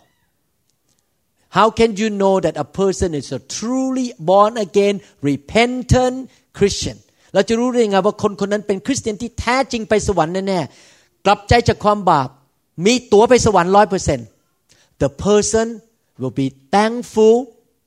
How can you know that a person is a truly born again repentant Christian เราจะรู้ได้ยังไงว่าคนคนนั้นเป็นคริสเตียนที่แท้จริงไปสวรรค์แน่ๆกลับใจจากความบาปมีตั๋วไปสวรรค์ 100% The person will be thankful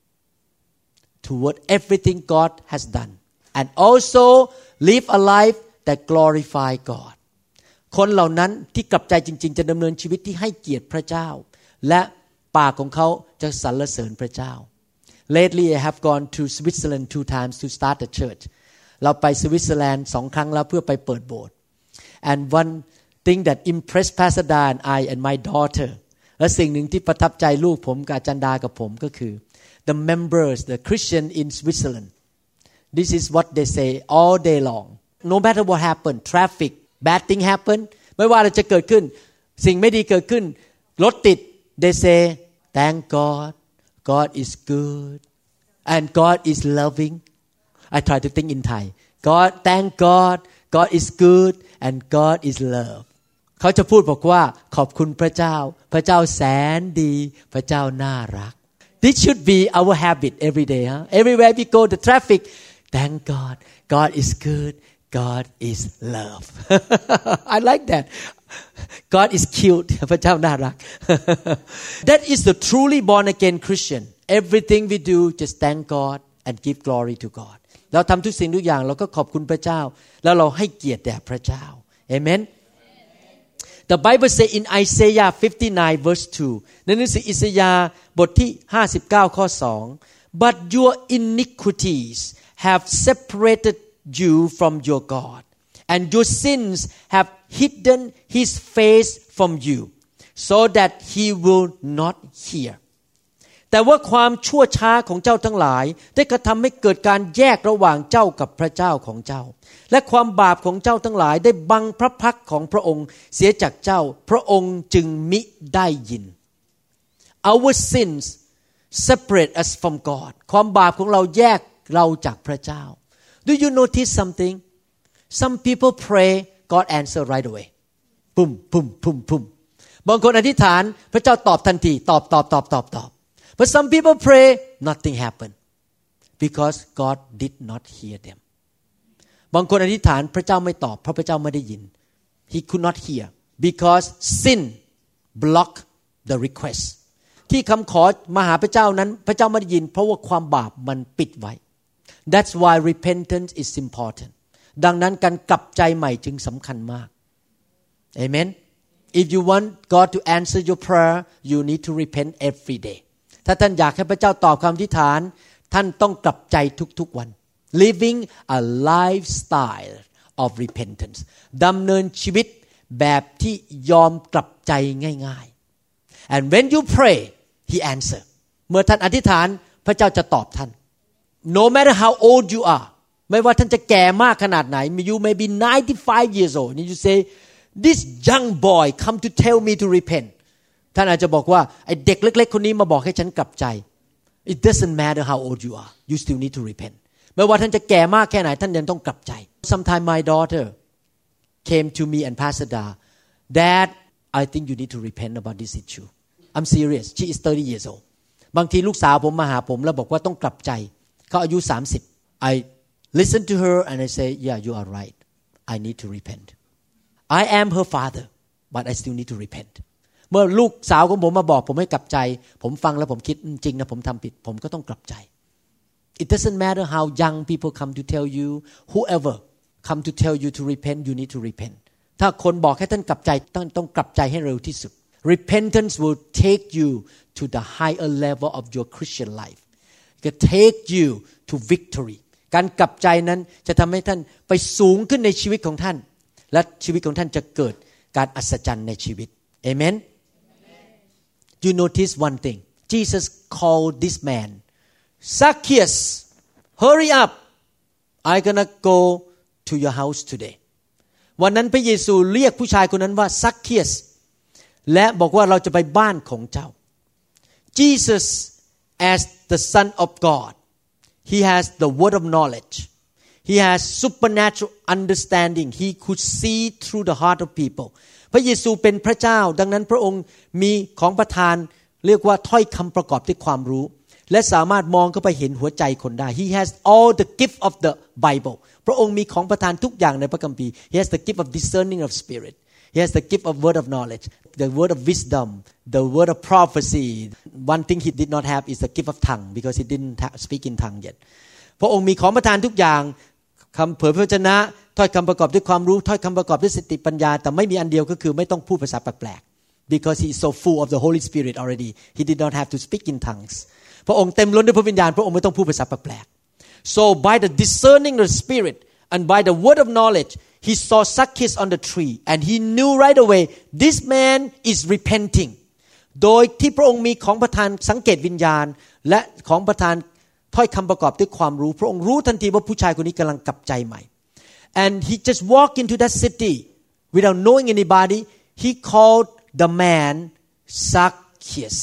toward everything God has done and also live a life that glorify God คนเหล่านั้นที่กลับใจจริงๆจะดำเนินชีวิตที่ให้เกียรติพระเจ้าและปากของเขาจะสรรเสริญพระเจ้า Lately I have gone to Switzerland 2 times to start a church เราไปสวิตเซอร์แลนด์2 ครั้งแล้วเพื่อไปเปิดโบสถ์ and one thing that impressed Pastor Da and I and my daughter และสิ่งหนึ่งที่ประทับใจลูกผมกับอาจารย์ดากับผมก็คือ the members the Christian in Switzerland this is what they say all day long no matter what happen traffic bad thing happen ไม่ว่าอะไรจะเกิดขึ้นสิ่งไม่ดีเกิดขึ้นรถติด they say thank God God is good and God is loving I try to think in Thai God thank God God is good and God is love เขาจะพูดบอกว่าขอบคุณพระเจ้าพระเจ้าแสนดีพระเจ้าน่ารัก This should be our habit every day huh? Everywhere we go the traffic thank God God is good God is love I like that God is cute พระเจ้าน่ารัก That is the truly born again Christian Everything we do just thank God and give glory to God เราทำทุกสิ่งทุกอย่างเราก็ขอบคุณพระเจ้าแล้วเราให้เกียรติแด่พระเจ้า Amen The Bible say in Isaiah 59 verse 2ในหนังสืออิสยาห์บทที่59ข้อ2 But your iniquities have separated you from your God and your sins have hidden his face from you so that he will not hear แต่ว่าความชั่วช้าของเจ้าทั้งหลายได้กระทำให้เกิดการแยกระหว่างเจ้ากับพระเจ้าของเจ้าและความบาปของเจ้าทั้งหลายได้บังพระพักของพระองค์เสียจากเจ้าพระองค์จึงมิได้ยิน Our sins separate us from God ความบาปของเราแยกเราจากพระเจ้า Do you notice something? Some people pray, God answer right away. ปุ่มปุ่มปุ่มปุ่มบางคนอธิษฐานพระเจ้าตอบทันทีตอบ But some people pray, nothing happened because God did not hear them. บางคนอธิษฐานพระเจ้าไม่ตอบเพราะพระเจ้าไม่ได้ยิน He could not hear because sin blocked the request. ที่คำขอมาหาพระเจ้านั้นพระเจ้าไม่ได้ยินเพราะว่าความบาปมันปิดไว้ That's why repentance is important. ดังนั้นการกลับใจใหม่จึงสำคัญมาก Amen. If you want God to answer your prayer, you need to repent every day. ถ้าท่านอยากให้พระเจ้าตอบคำอธิษฐานท่านต้องกลับใจทุกๆวัน Living a lifestyle of repentance ดำเนินชีวิตแบบที่ยอมกลับใจง่ายๆ And when you pray, He answer เมื่อท่านอธิษฐานพระเจ้าจะตอบท่าน No matter how old you are ไม่ว่าท่านจะแก่มากขนาดไหน You may be 95 years old and you say This young boy come to tell me to repent ท่านอาจจะบอกว่าไอ้เด็กเล็กๆคนนี้มาบอกให้ฉันกลับใจ It doesn't matter how old you are you still need to repent ไม่ว่าท่านจะแก่มากแค่ไหนท่านยังต้องกลับใจ Sometime my daughter came to me and Pastor Da Dad I think you need to repent about this issue I'm serious she is 30 years old บางทีลูกสาวผมมาหาผมแล้วบอกว่าต้องกลับใจเขาอายุ30 I listen to her and I say yeah you are right I need to repent I am her father but I still need to repent เมื่อลูกสาวของผมมาบอกผมให้กลับใจผมฟังแล้วผมคิดจริงนะผมทำผิดผมก็ต้องกลับใจ It doesn't matter how young people come to tell you whoever come to tell you to repent you need to repent ถ้าคนบอกให้ท่านกลับใจต้องกลับใจให้เร็วที่สุด Repentance will take you to the higher level of your Christian life it will take you to victory การกลับใจนั้นจะทำให้ท่านไปสูงขึ้นในชีวิตของท่านและชีวิตของท่านจะเกิดการอัศจรรย์ในชีวิต Amen You notice one thing Jesus called this man Zacchaeus hurry up I'm gonna go to your house today วันนั้นพระเยซูเรียกผู้ชายคนนั้นว่า Zacchaeus และบอกว่าเราจะไปบ้านของเจ้า Jesus as the Son of God He has the word of knowledge He has supernatural understanding. He could see through the heart of people. พระเยซูเป็นพระเจ้าดังนั้นพระองค์มีของประทานเรียกว่าถ้อยคำประกอบด้วยความรู้และสามารถมองเข้าไปเห็นหัวใจคนได้ He has all the gift of the Bible. พระองค์มีของประทานทุกอย่างในพระคัมภีร์ He has the gift of discerning of spirit. He has the gift of word of knowledge, the word of wisdom, the word of prophecy. One thing he did not have is the gift of tongue because he didn't speak in tongue yet. พระองค์มีของประทานทุกอย่างคำเผยพระวจนะถ้อยคำประกอบด้วยความรู้ถ้อยคำประกอบด้วยสติปัญญาแต่ไม่มีอันเดียวก็คือไม่ต้องพูดภาษาแปลกๆ because he is so full of the Holy Spirit already he did not have to speak in tongues พระองค์เต็มล้นด้วยพระวิญญาณพระองค์ไม่ต้องพูดภาษาแปลกๆ so by the discerning of the Spirit and by the word of knowledge he saw Zacchaeus on the tree and he knew right away this man is repenting โดยที่พระองค์มีของประทานสังเกตวิญญาณและของประทานถ้อยคำประกอบด้วยความรู้พระองค์รู้ทันทีว่าผู้ชายคนนี้กำลังกลับใจใหม่ and he just walked into that city without knowing anybody he called the man Zacchaeus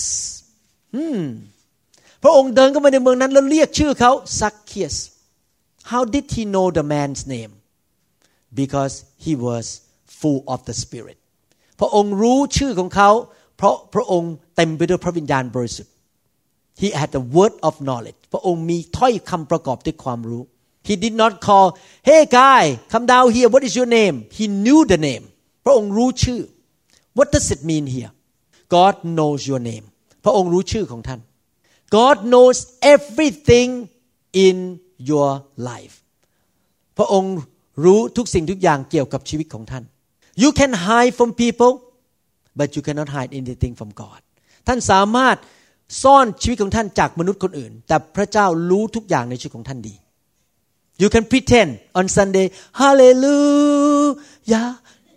พระองค์เดินเข้ามาในเมืองนั้นแล้วเรียกชื่อเขา Zacchaeus how did he know the man's name because he was full of the Spirit พระองค์รู้ชื่อของเขาเพราะพระองค์เต็มไปด้วยพระวิญญาณบริสุทธิ์He had the word of knowledge พระองค์มีถ้อยคำประกอบด้วยความรู้ He did not call Hey guy come down here what is your name He knew the name พระองค์รู้ชื่อ What does it mean here God knows your name พระองค์รู้ชื่อของท่าน God knows everything in your life พระองค์รู้ทุกสิ่งทุกอย่างเกี่ยวกับชีวิตของท่าน You can hide from people but you cannot hide anything from God ท่านสามารถซ่อนชีวิตของท่านจากมนุษย์คนอื่นแต่พระเจ้ารู้ทุกอย่างในชีวิตของท่านดี You can pretend on Sunday Hallelujah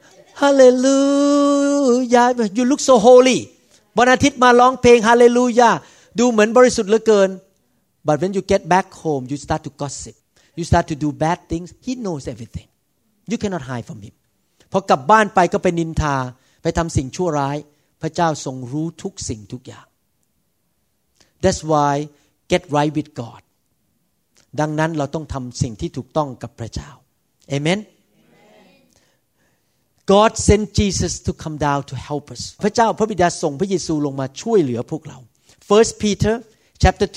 Hallelujah You look so holy วันอาทิตย์มาร้องเพลง Hallelujah ดูเหมือนบริสุทธิ์เหลือเกิน But when you get back home you start to gossip You start to do bad things He knows everything You cannot hide from Him พอกลับบ้านไปก็ไปนินทาไปทำสิ่งชั่วร้ายพระเจ้าทรงรู้ทุกสิ่งทุกอย่าง That's why get right with God ดังนั้นเราต้องทำสิ่งที่ถูกต้องกับพระเจ้า Amen God sent Jesus to come down to help us พระเจ้าพระบิดาส่งพระเยซูลงมาช่วยเหลือพวกเรา First Peter chapter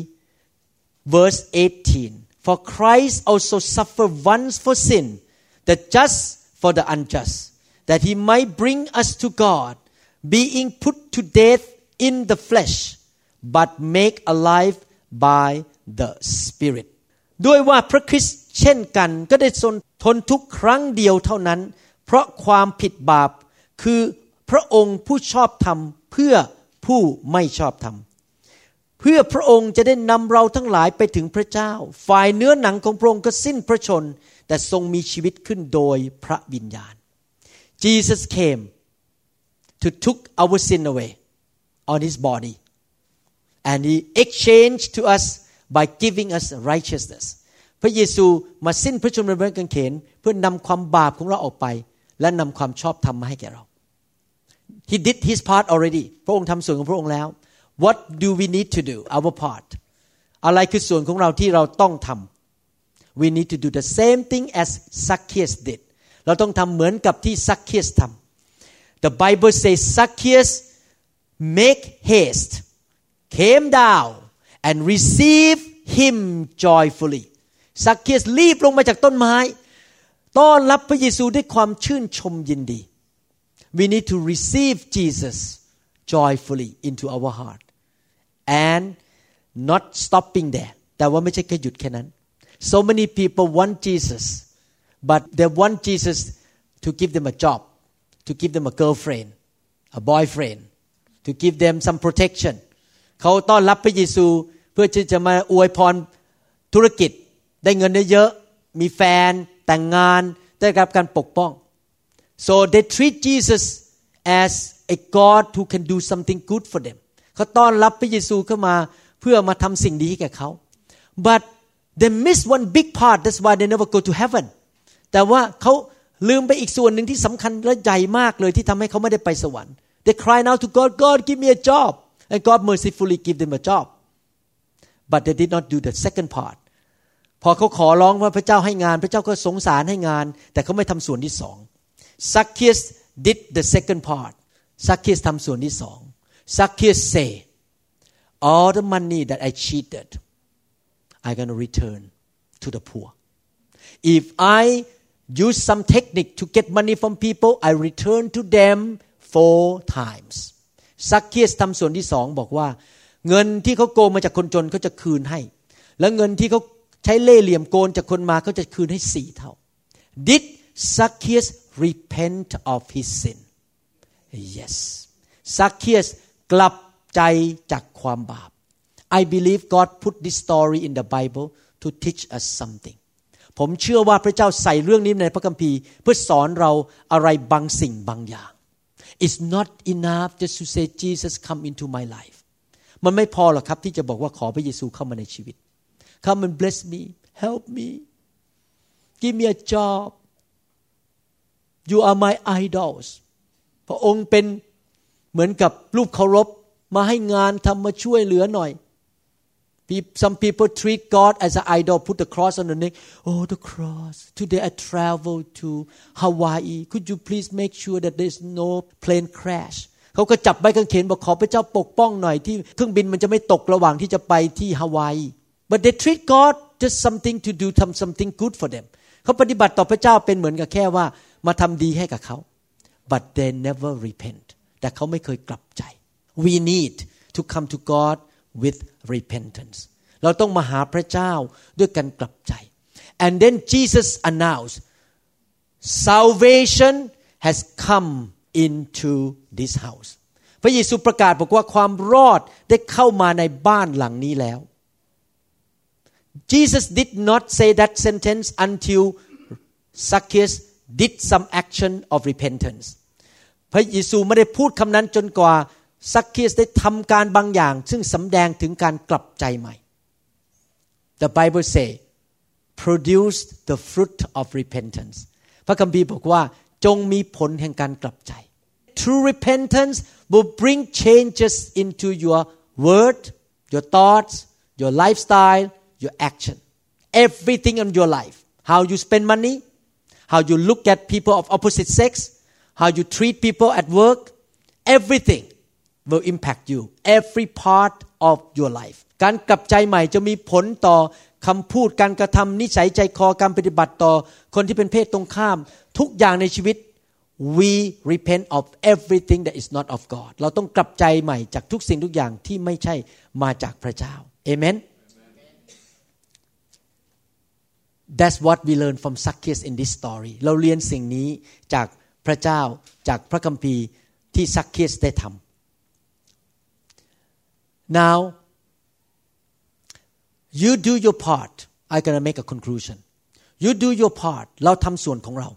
3 verse 18 For Christ also suffered once for sin the just for the unjust that he might bring us to God being put to death in the flesh but make alive by the Spirit ด้วยว่าพระคริสต์เช่นกันก็ได้ทนทุกข์ครั้งเดียวเท่านั้นเพราะความผิดบาปคือพระองค์ผู้ชอบธรรมเพื่อผู้ไม่ชอบธรรมเพื่อพระองค์จะได้นำเราทั้งหลายไปถึงพระเจ้าฝ่ายเนื้อหนังของพระองค์ก็สิ้นพระชนแต่ทรงมีชีวิตขึ้นโดยพระวิญญาณ Jesus came to took our sin away on his body and he exchanged to us by giving us righteousness พระเยซูมาสิ้นพระชนม์บนไม้กางเขนเพื่อนำความบาปของเราออกไปและนำความชอบธรรมมาให้แก่เรา He did his part already พระองค์ทำส่วนของพระองค์แล้ว What do we need to do our part อะไรคือส่วนของเราที่เราต้องทำ We need to do the same thing as Zacchaeus did เราต้องทำเหมือนกับที่ Zacchaeus ทำ The Bible says Zacchaeus make haste came down and receive him joyfully ซักเคียสรีบลงมาจากต้นไม้ต้อนรับพระเยซูด้วยความชื่นชมยินดี We need to receive Jesus joyfully into our heart and not stopping there แต่ว่าไม่ใช่แค่หยุดแค่นั้น So many people want Jesus but they want Jesus to give them a job to give them a girlfriend a boyfriend to give them some protection เขาต้อนรับพระเยซูเพื่อที่จะมาอวยพรธุรกิจได้เงินเยอะๆมีแฟนแต่งงานได้รับการปกป้อง so they treat Jesus as a God who can do something good for them เขาต้อนรับพระเยซูเข้ามาเพื่อมาทำสิ่งดีให้แก่เขา but they miss one big part that's why they never go to heaven แต่ว่าเขาลืมไปอีกส่วนหนึ่งที่สำคัญและใหญ่มากเลยที่ทำให้เขาไม่ได้ไปสวรรค์ they cry out to God God give me a job and God mercifully give them a job but they did not do the second partพอเขาขอร้องว่าพระเจ้าให้งานพระเจ้าก็สงสารให้งานแต่เขาไม่ทำส่วนที่สอง Zacchaeus did the second part Zacchaeus ทำส่วนที่สอง Zacchaeus say all the money that I cheated I'm going to return to the poor if I use some technique to get money from people I return to them 4 times Zacchaeus ทำส่วนที่สองบอกว่าเงินที่เขาโกงมาจากคนจนเขาจะคืนให้แล้วเงินที่เขาใช้เล่ห์เหลี่ยมโกงจากคนมาเขาจะคืนให้4 เท่า Did Zacchaeus repent of his sin Yes Zacchaeus กลับใจจากความบาป I believe God put this story in the Bible to teach us something ผมเชื่อว่าพระเจ้าใส่เรื่องนี้ในพระคัมภีร์เพื่อสอนเราอะไรบางสิ่งบางอย่าง It's not enough just to say Jesus come into my life มันไม่พอหรอกครับที่จะบอกว่าขอพระเยซูเข้ามาในชีวิตCome and bless me, help me, give me a job. You are my idols. พระองค์เป็นเหมือนกับรูปเคารพมาให้งานทำมาช่วยเหลือหน่อย Some people treat God as an idol, put the cross on the neck. Oh, the cross. Today I travel to Hawaii. Could you please make sure that there's no plane crash? เขาก็จับใบกางเขนบอกขอพระเจ้าปกป้องหน่อยที่เครื่องบินมันจะไม่ตกระหว่างที่จะไปที่ฮาวายBut they treat God just something to do something good for them เขาปฏิบัติต่อพระเจ้าเป็นเหมือนกับแค่ว่ามาทำดีให้กับเขา But they never repent แต่เขาไม่เคยกลับใจ We need to come to God with repentance เราต้องมาหาพระเจ้าด้วยการกลับใจ And then Jesus announced Salvation has come into this house พระเยซูประกาศบอกว่าความรอดได้เข้ามาในบ้านหลังนี้แล้ว Jesus did not say that sentence until Zacchaeus did some action of repentance พระเยซูไม่ได้พูดคำนั้นจนกว่าซักเคสได้ทำการบางอย่างซึ่งสำแดงถึงการกลับใจใหม่ The Bible say produce the fruit of repentance พระคัมภีร์บอกว่าจงมีผลแห่งการกลับใจ True repentance will bring changes into your word, your thoughts, your lifestyle, your action, everything in your life. How you spend money, how you look at people of opposite sex, how you treat people at work, everything will impact you, every part of your life. การกลับใจใหม่จะมีผลต่อคำพูดการกระทำนิสัยใจคอการปฏิบัติต่อคนที่เป็นเพศตรงข้ามทุกอย่างในชีวิต we repent of everything that is not of God เราต้องกลับใจใหม่จากทุกสิ่งทุกอย่างที่ไม่ใช่มาจากพระเจ้า Amen That's what we learn from Zacchaeus in this story เราเรียนสิ่งนี้จากพระเจ้าจากพระคัมภีร์ที่ซักเคสได้ทำ Now you do your part I'm gonna make a conclusion you do your part เราทำส่วนของเรา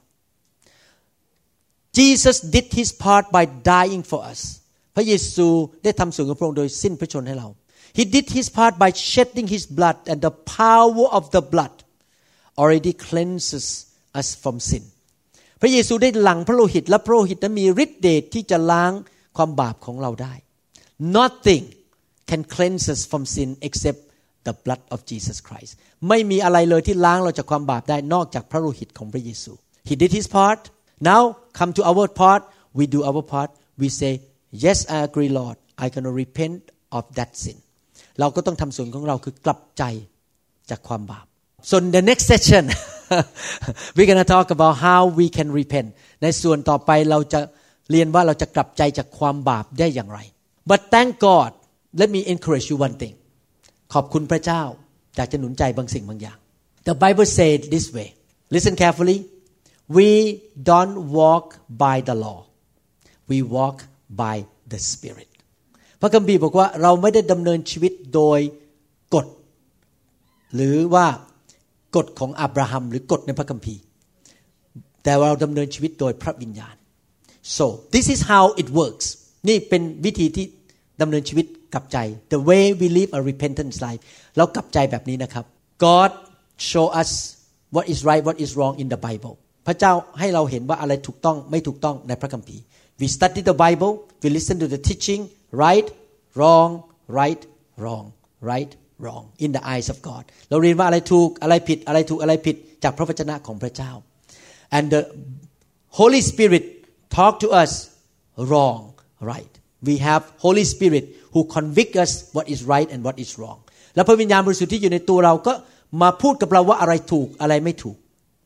Jesus did his part by dying for us พระเยซูได้ทำส่วนของพระองค์โดยสิ้นพระชนให้เรา He did his part by shedding his blood and the power of the blood already cleanses us from sin พระเยซูได้หลั่งพระโลหิตและพระโลหิตนั้นมีฤทธิ์เดชที่จะล้างความบาปของเราได้ Nothing can cleanse us from sin except the blood of Jesus Christ ไม่มีอะไรเลยที่ล้างเราจากความบาปได้นอกจากพระโลหิตของพระเยซู He did his part now come to our part we do our part we say yes I agree Lord I gonna repent of that sin เราก็ต้องทำส่วนของเราคือกลับใจจากความบาปSo in the next session we're going to talk about how we can repent ในส่วนต่อไปเราจะเรียนว่าเราจะกลับใจจากความบาปได้อย่างไร But thank God let me encourage you one thing ขอบคุณพระเจ้าอยากจะหนุนใจบางสิ่งบางอย่าง The Bible said this way listen carefully we don't walk by the law we walk by the Spirit พระคัมภีร์บอกว่าเราไม่ได้ดำเนินชีวิตโดยกฎหรือว่ากฎของอับราฮัมหรือกฎในพระคัมภีร์แต่เราดำเนินชีวิตโดยพระวิญญาณ so this is how it works นี่เป็นวิธีที่ดำเนินชีวิตกลับใจ the way we live a repentant life เรากลับใจแบบนี้นะครับ God show us what is right what is wrong in the Bible พระเจ้าให้เราเห็นว่าอะไรถูกต้องไม่ถูกต้องในพระคัมภีร์ we study the Bible we listen to the teaching right wrong right wrong right wrong in the eyes of God เราเรียนว่าอะไรถูกอะไรผิดอะไรถูกอะไรผิดจากพระวจนะของพระเจ้า and the Holy Spirit talk to us wrong right we have Holy Spirit who convict us what is right and what is wrong และพระวิญญาณบริสุทธิ์ที่อยู่ในตัวเราก็มาพูดกับเราว่าอะไรถูกอะไรไม่ถูก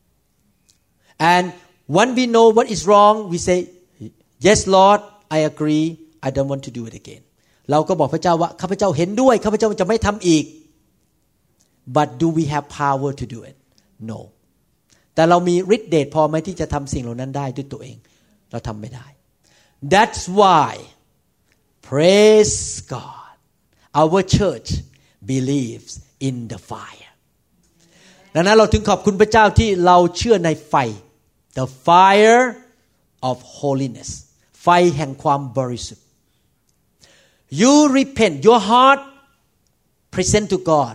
and when we know what is wrong we say yes Lord I agree I don't want to do it againเราก็บอกพระเจ้าว่าข้าพเจ้าเห็นด้วยข้าพเจ้าจะไม่ทำอีก but do we have power to do it no แต่เรามีฤทธิ์เดชพอไหมที่จะทำสิ่งเหล่านั้นได้ด้วยตัวเองเราทำไม่ได้ that's why praise God our church believes in the fire ดังนั้นเราถึงขอบคุณพระเจ้าที่เราเชื่อในไฟ the fire of holiness ไฟแห่งความบริสุทธิ์You repent your heart present to God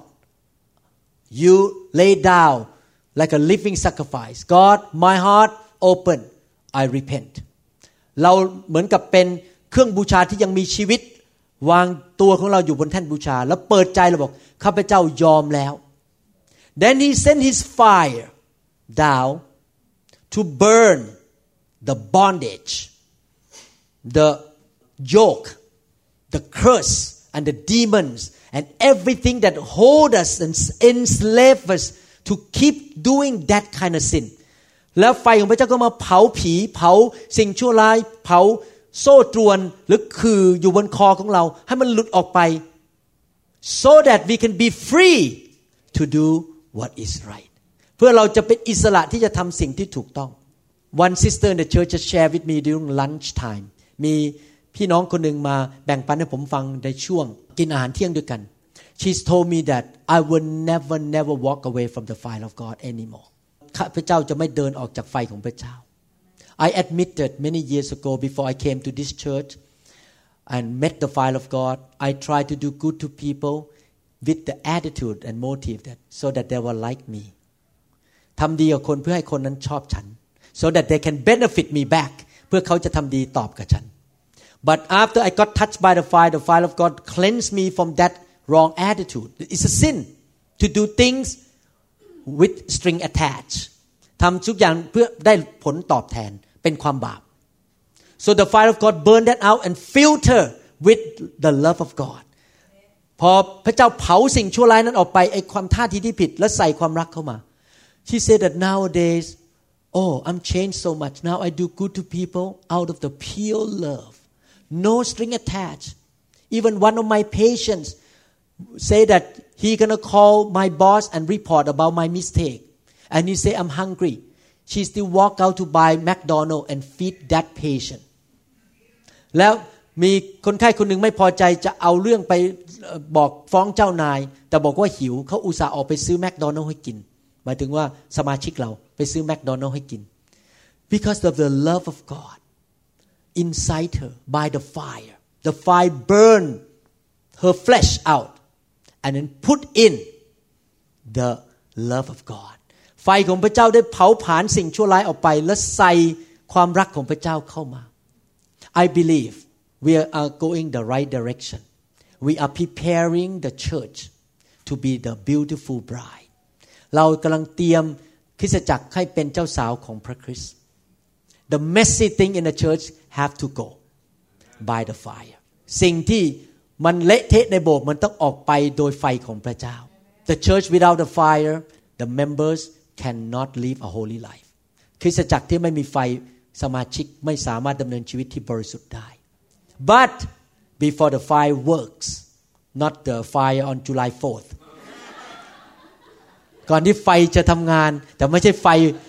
you lay down like a living sacrifice God my heart open I repent เราเหมือนกับเป็นเครื่องบูชาที่ยังมีชีวิตวางตัวของเราอยู่บนแท่นบูชาแล้วเปิดใจเราบอกข้าพเจ้ายอมแล้ว Then he sent his fire down to burn the bondage the yoke the curse and the demons and everything that hold us and enslave us to keep doing that kind of sin แล้วไฟของพระเจ้าก็มาเผาผีเผาสิ่งชั่วร้ายเผาโซ่ตรวนหรือคืออยู่บนคอของเราให้มันหลุดออกไป so that we can be free to do what is right เพื่อเราจะเป็นอิสระที่จะทำสิ่งที่ถูกต้อง One sister in the church just shared with me during lunch time มีพี่น้องคนหนึ่งมาแบ่งปันให้ผมฟังในช่วงกินอาหารเที่ยงด้วยกัน she's told me that I will never walk away from the fire of God anymore ข้าพเจ้าจะไม่เดินออกจากไฟของพระเจ้า I admitted many years ago before I came to this church and met the fire of God I tried to do good to people with the attitude and motive that so that they will like me ทำดีกับคนเพื่อให้คนนั้นชอบฉัน so that they can benefit me back เพื่อเขาจะทำดีตอบกับฉัน but after I got touched by the fire of God cleansed me from that wrong attitude it's a sin to do things with string attached ทำทุกอย่างเพื่อได้ผลตอบแทนเป็นความบาป so the fire of God burned that out and filter with the love of God พอพระเจ้าเผาสิ่งชั่วร้ายนั้นออกไปไอ้ความท่าทีที่ผิดและใส่ความรักเข้ามา she said that nowadays oh I'm changed so much now I do good to people out of the pure love no string attached even one of my patients say that he gonna call my boss and report about my mistake and he say I'm hungry she still walk out to buy McDonald's and feed that patient แล้วมีคนไข้คนหนึ่งไม่พอใจจะเอาเรื่องไปบอกฟ้องเจ้านายแต่บอกว่าหิวเขาอุตส่าห์ออกไปซื้อแมคโดนัลด์ให้กินหมายถึงว่าสมาชิกเราไปซื้อแมคโดนัลด์ให้กิน because of the love of God inside her by the fire burned her flesh out and then put in the love of God ไฟของพระเจ้าได้เผาผลาญสิ่งชั่วร้ายออกไปและใส่ความรักของพระเจ้าเข้ามา I believe we are going the right direction we are preparing the church to be the beautiful bride เรากำลังเตรียมคริสตจักรให้เป็นเจ้าสาวของพระคริสต์ the messy thing in the church have to go by the fire สิ่งที่มันเละเทะในโบสถ์มันต้องออกไปโดยไฟของพระเจ้า the church without the fire the members cannot live a holy life คริสตจักรที่ไม่มีไฟสมาชิกไม่สามารถดำเนินชีวิตที่บริสุทธิ์ได้ but before the fire works not the fire on July 4th ก่อนที่ไฟจะทำงานแต่ไม่ใช่ไฟ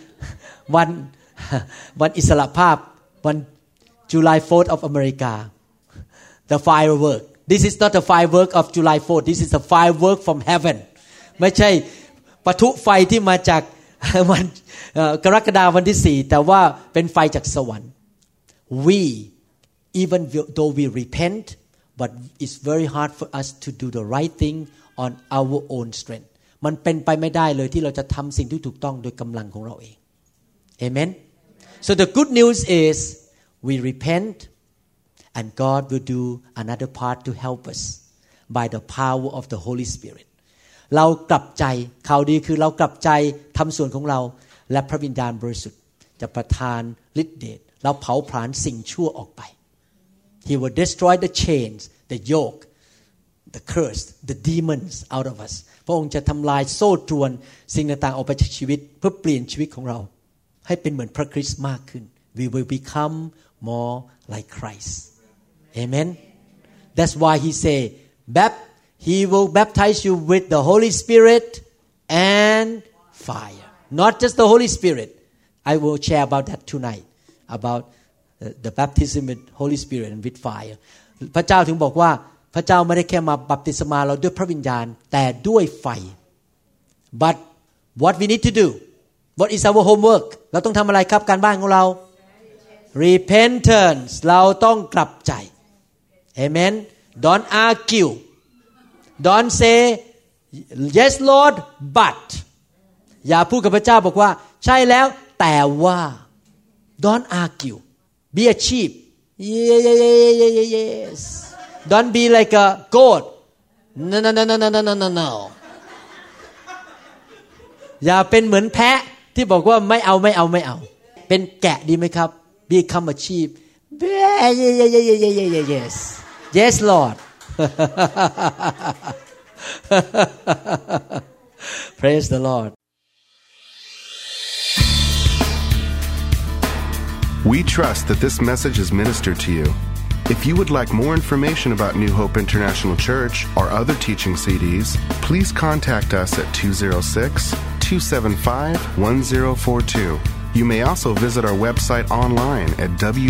วันอิสรภาพวัน July 4th of America the firework this is not the firework of July 4th this is a firework from heaven ไม่ใช่ปะทุไฟที่มาจากวันกรกฎาคมวันที่4แต่ว่าเป็นไฟจากสวรรค์ we even though we repent but it's very hard for us to do the right thing on our own strength มันเป็นไปไม่ได้เลยที่เราจะทำสิ่งที่ถูกต้องโดยกำลังของเราเอง Amen so the good news is we repent and God will do another part to help us by the power of the Holy Spirit เรากลับใจข่าวดีคือเรากลับใจทำส่วนของเราและพระวิญญาณบริสุทธิ์จะประทานฤทธิ์เดชเราเผาผลาญสิ่งชั่วออกไป He will destroy the chains the yoke the curse the demons out of us พระองค์จะทำลายโซ่ตรวนสิ่งต่างๆออกไปจากชีวิตเพื่อเปลี่ยนชีวิตของเราให้เป็นเหมือนพระคริสต์มากขึ้น We will become more like Christ Amen That's why he say He will baptize you with the Holy Spirit and fire not just the Holy Spirit I will share about that tonight about the baptism with Holy Spirit and with fire พระเจ้าถึงบอกว่าพระเจ้าไม่ได้แค่มาบัพติศมาเราด้วยพระวิญญาณแต่ด้วยไฟ but what we need to do what is our homework เราต้องทำอะไรครับการบ้านของเรา repentance เราต้องกลับใจ Amen don't argue don't say yes Lord but อย่าพูดกับพระเจ้าบอกว่าใช่แล้วแต่ว่า don't argue be a sheep yes don't be like a goat no อย่าเป็นเหมือนแพะที่บอกว่าไม่เอาเป็นแกะดีไหมครับ become a sheep yes Lord Praise the Lord We trust that this message is ministered to you. If you would like more information about New Hope International Church or other teaching CDs, please contact us at 206-275-1042 You may also visit our website online at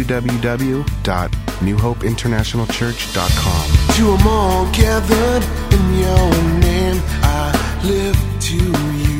www.newhopeinternationalchurch.com. To 'em all gathered in your name, I lift to you.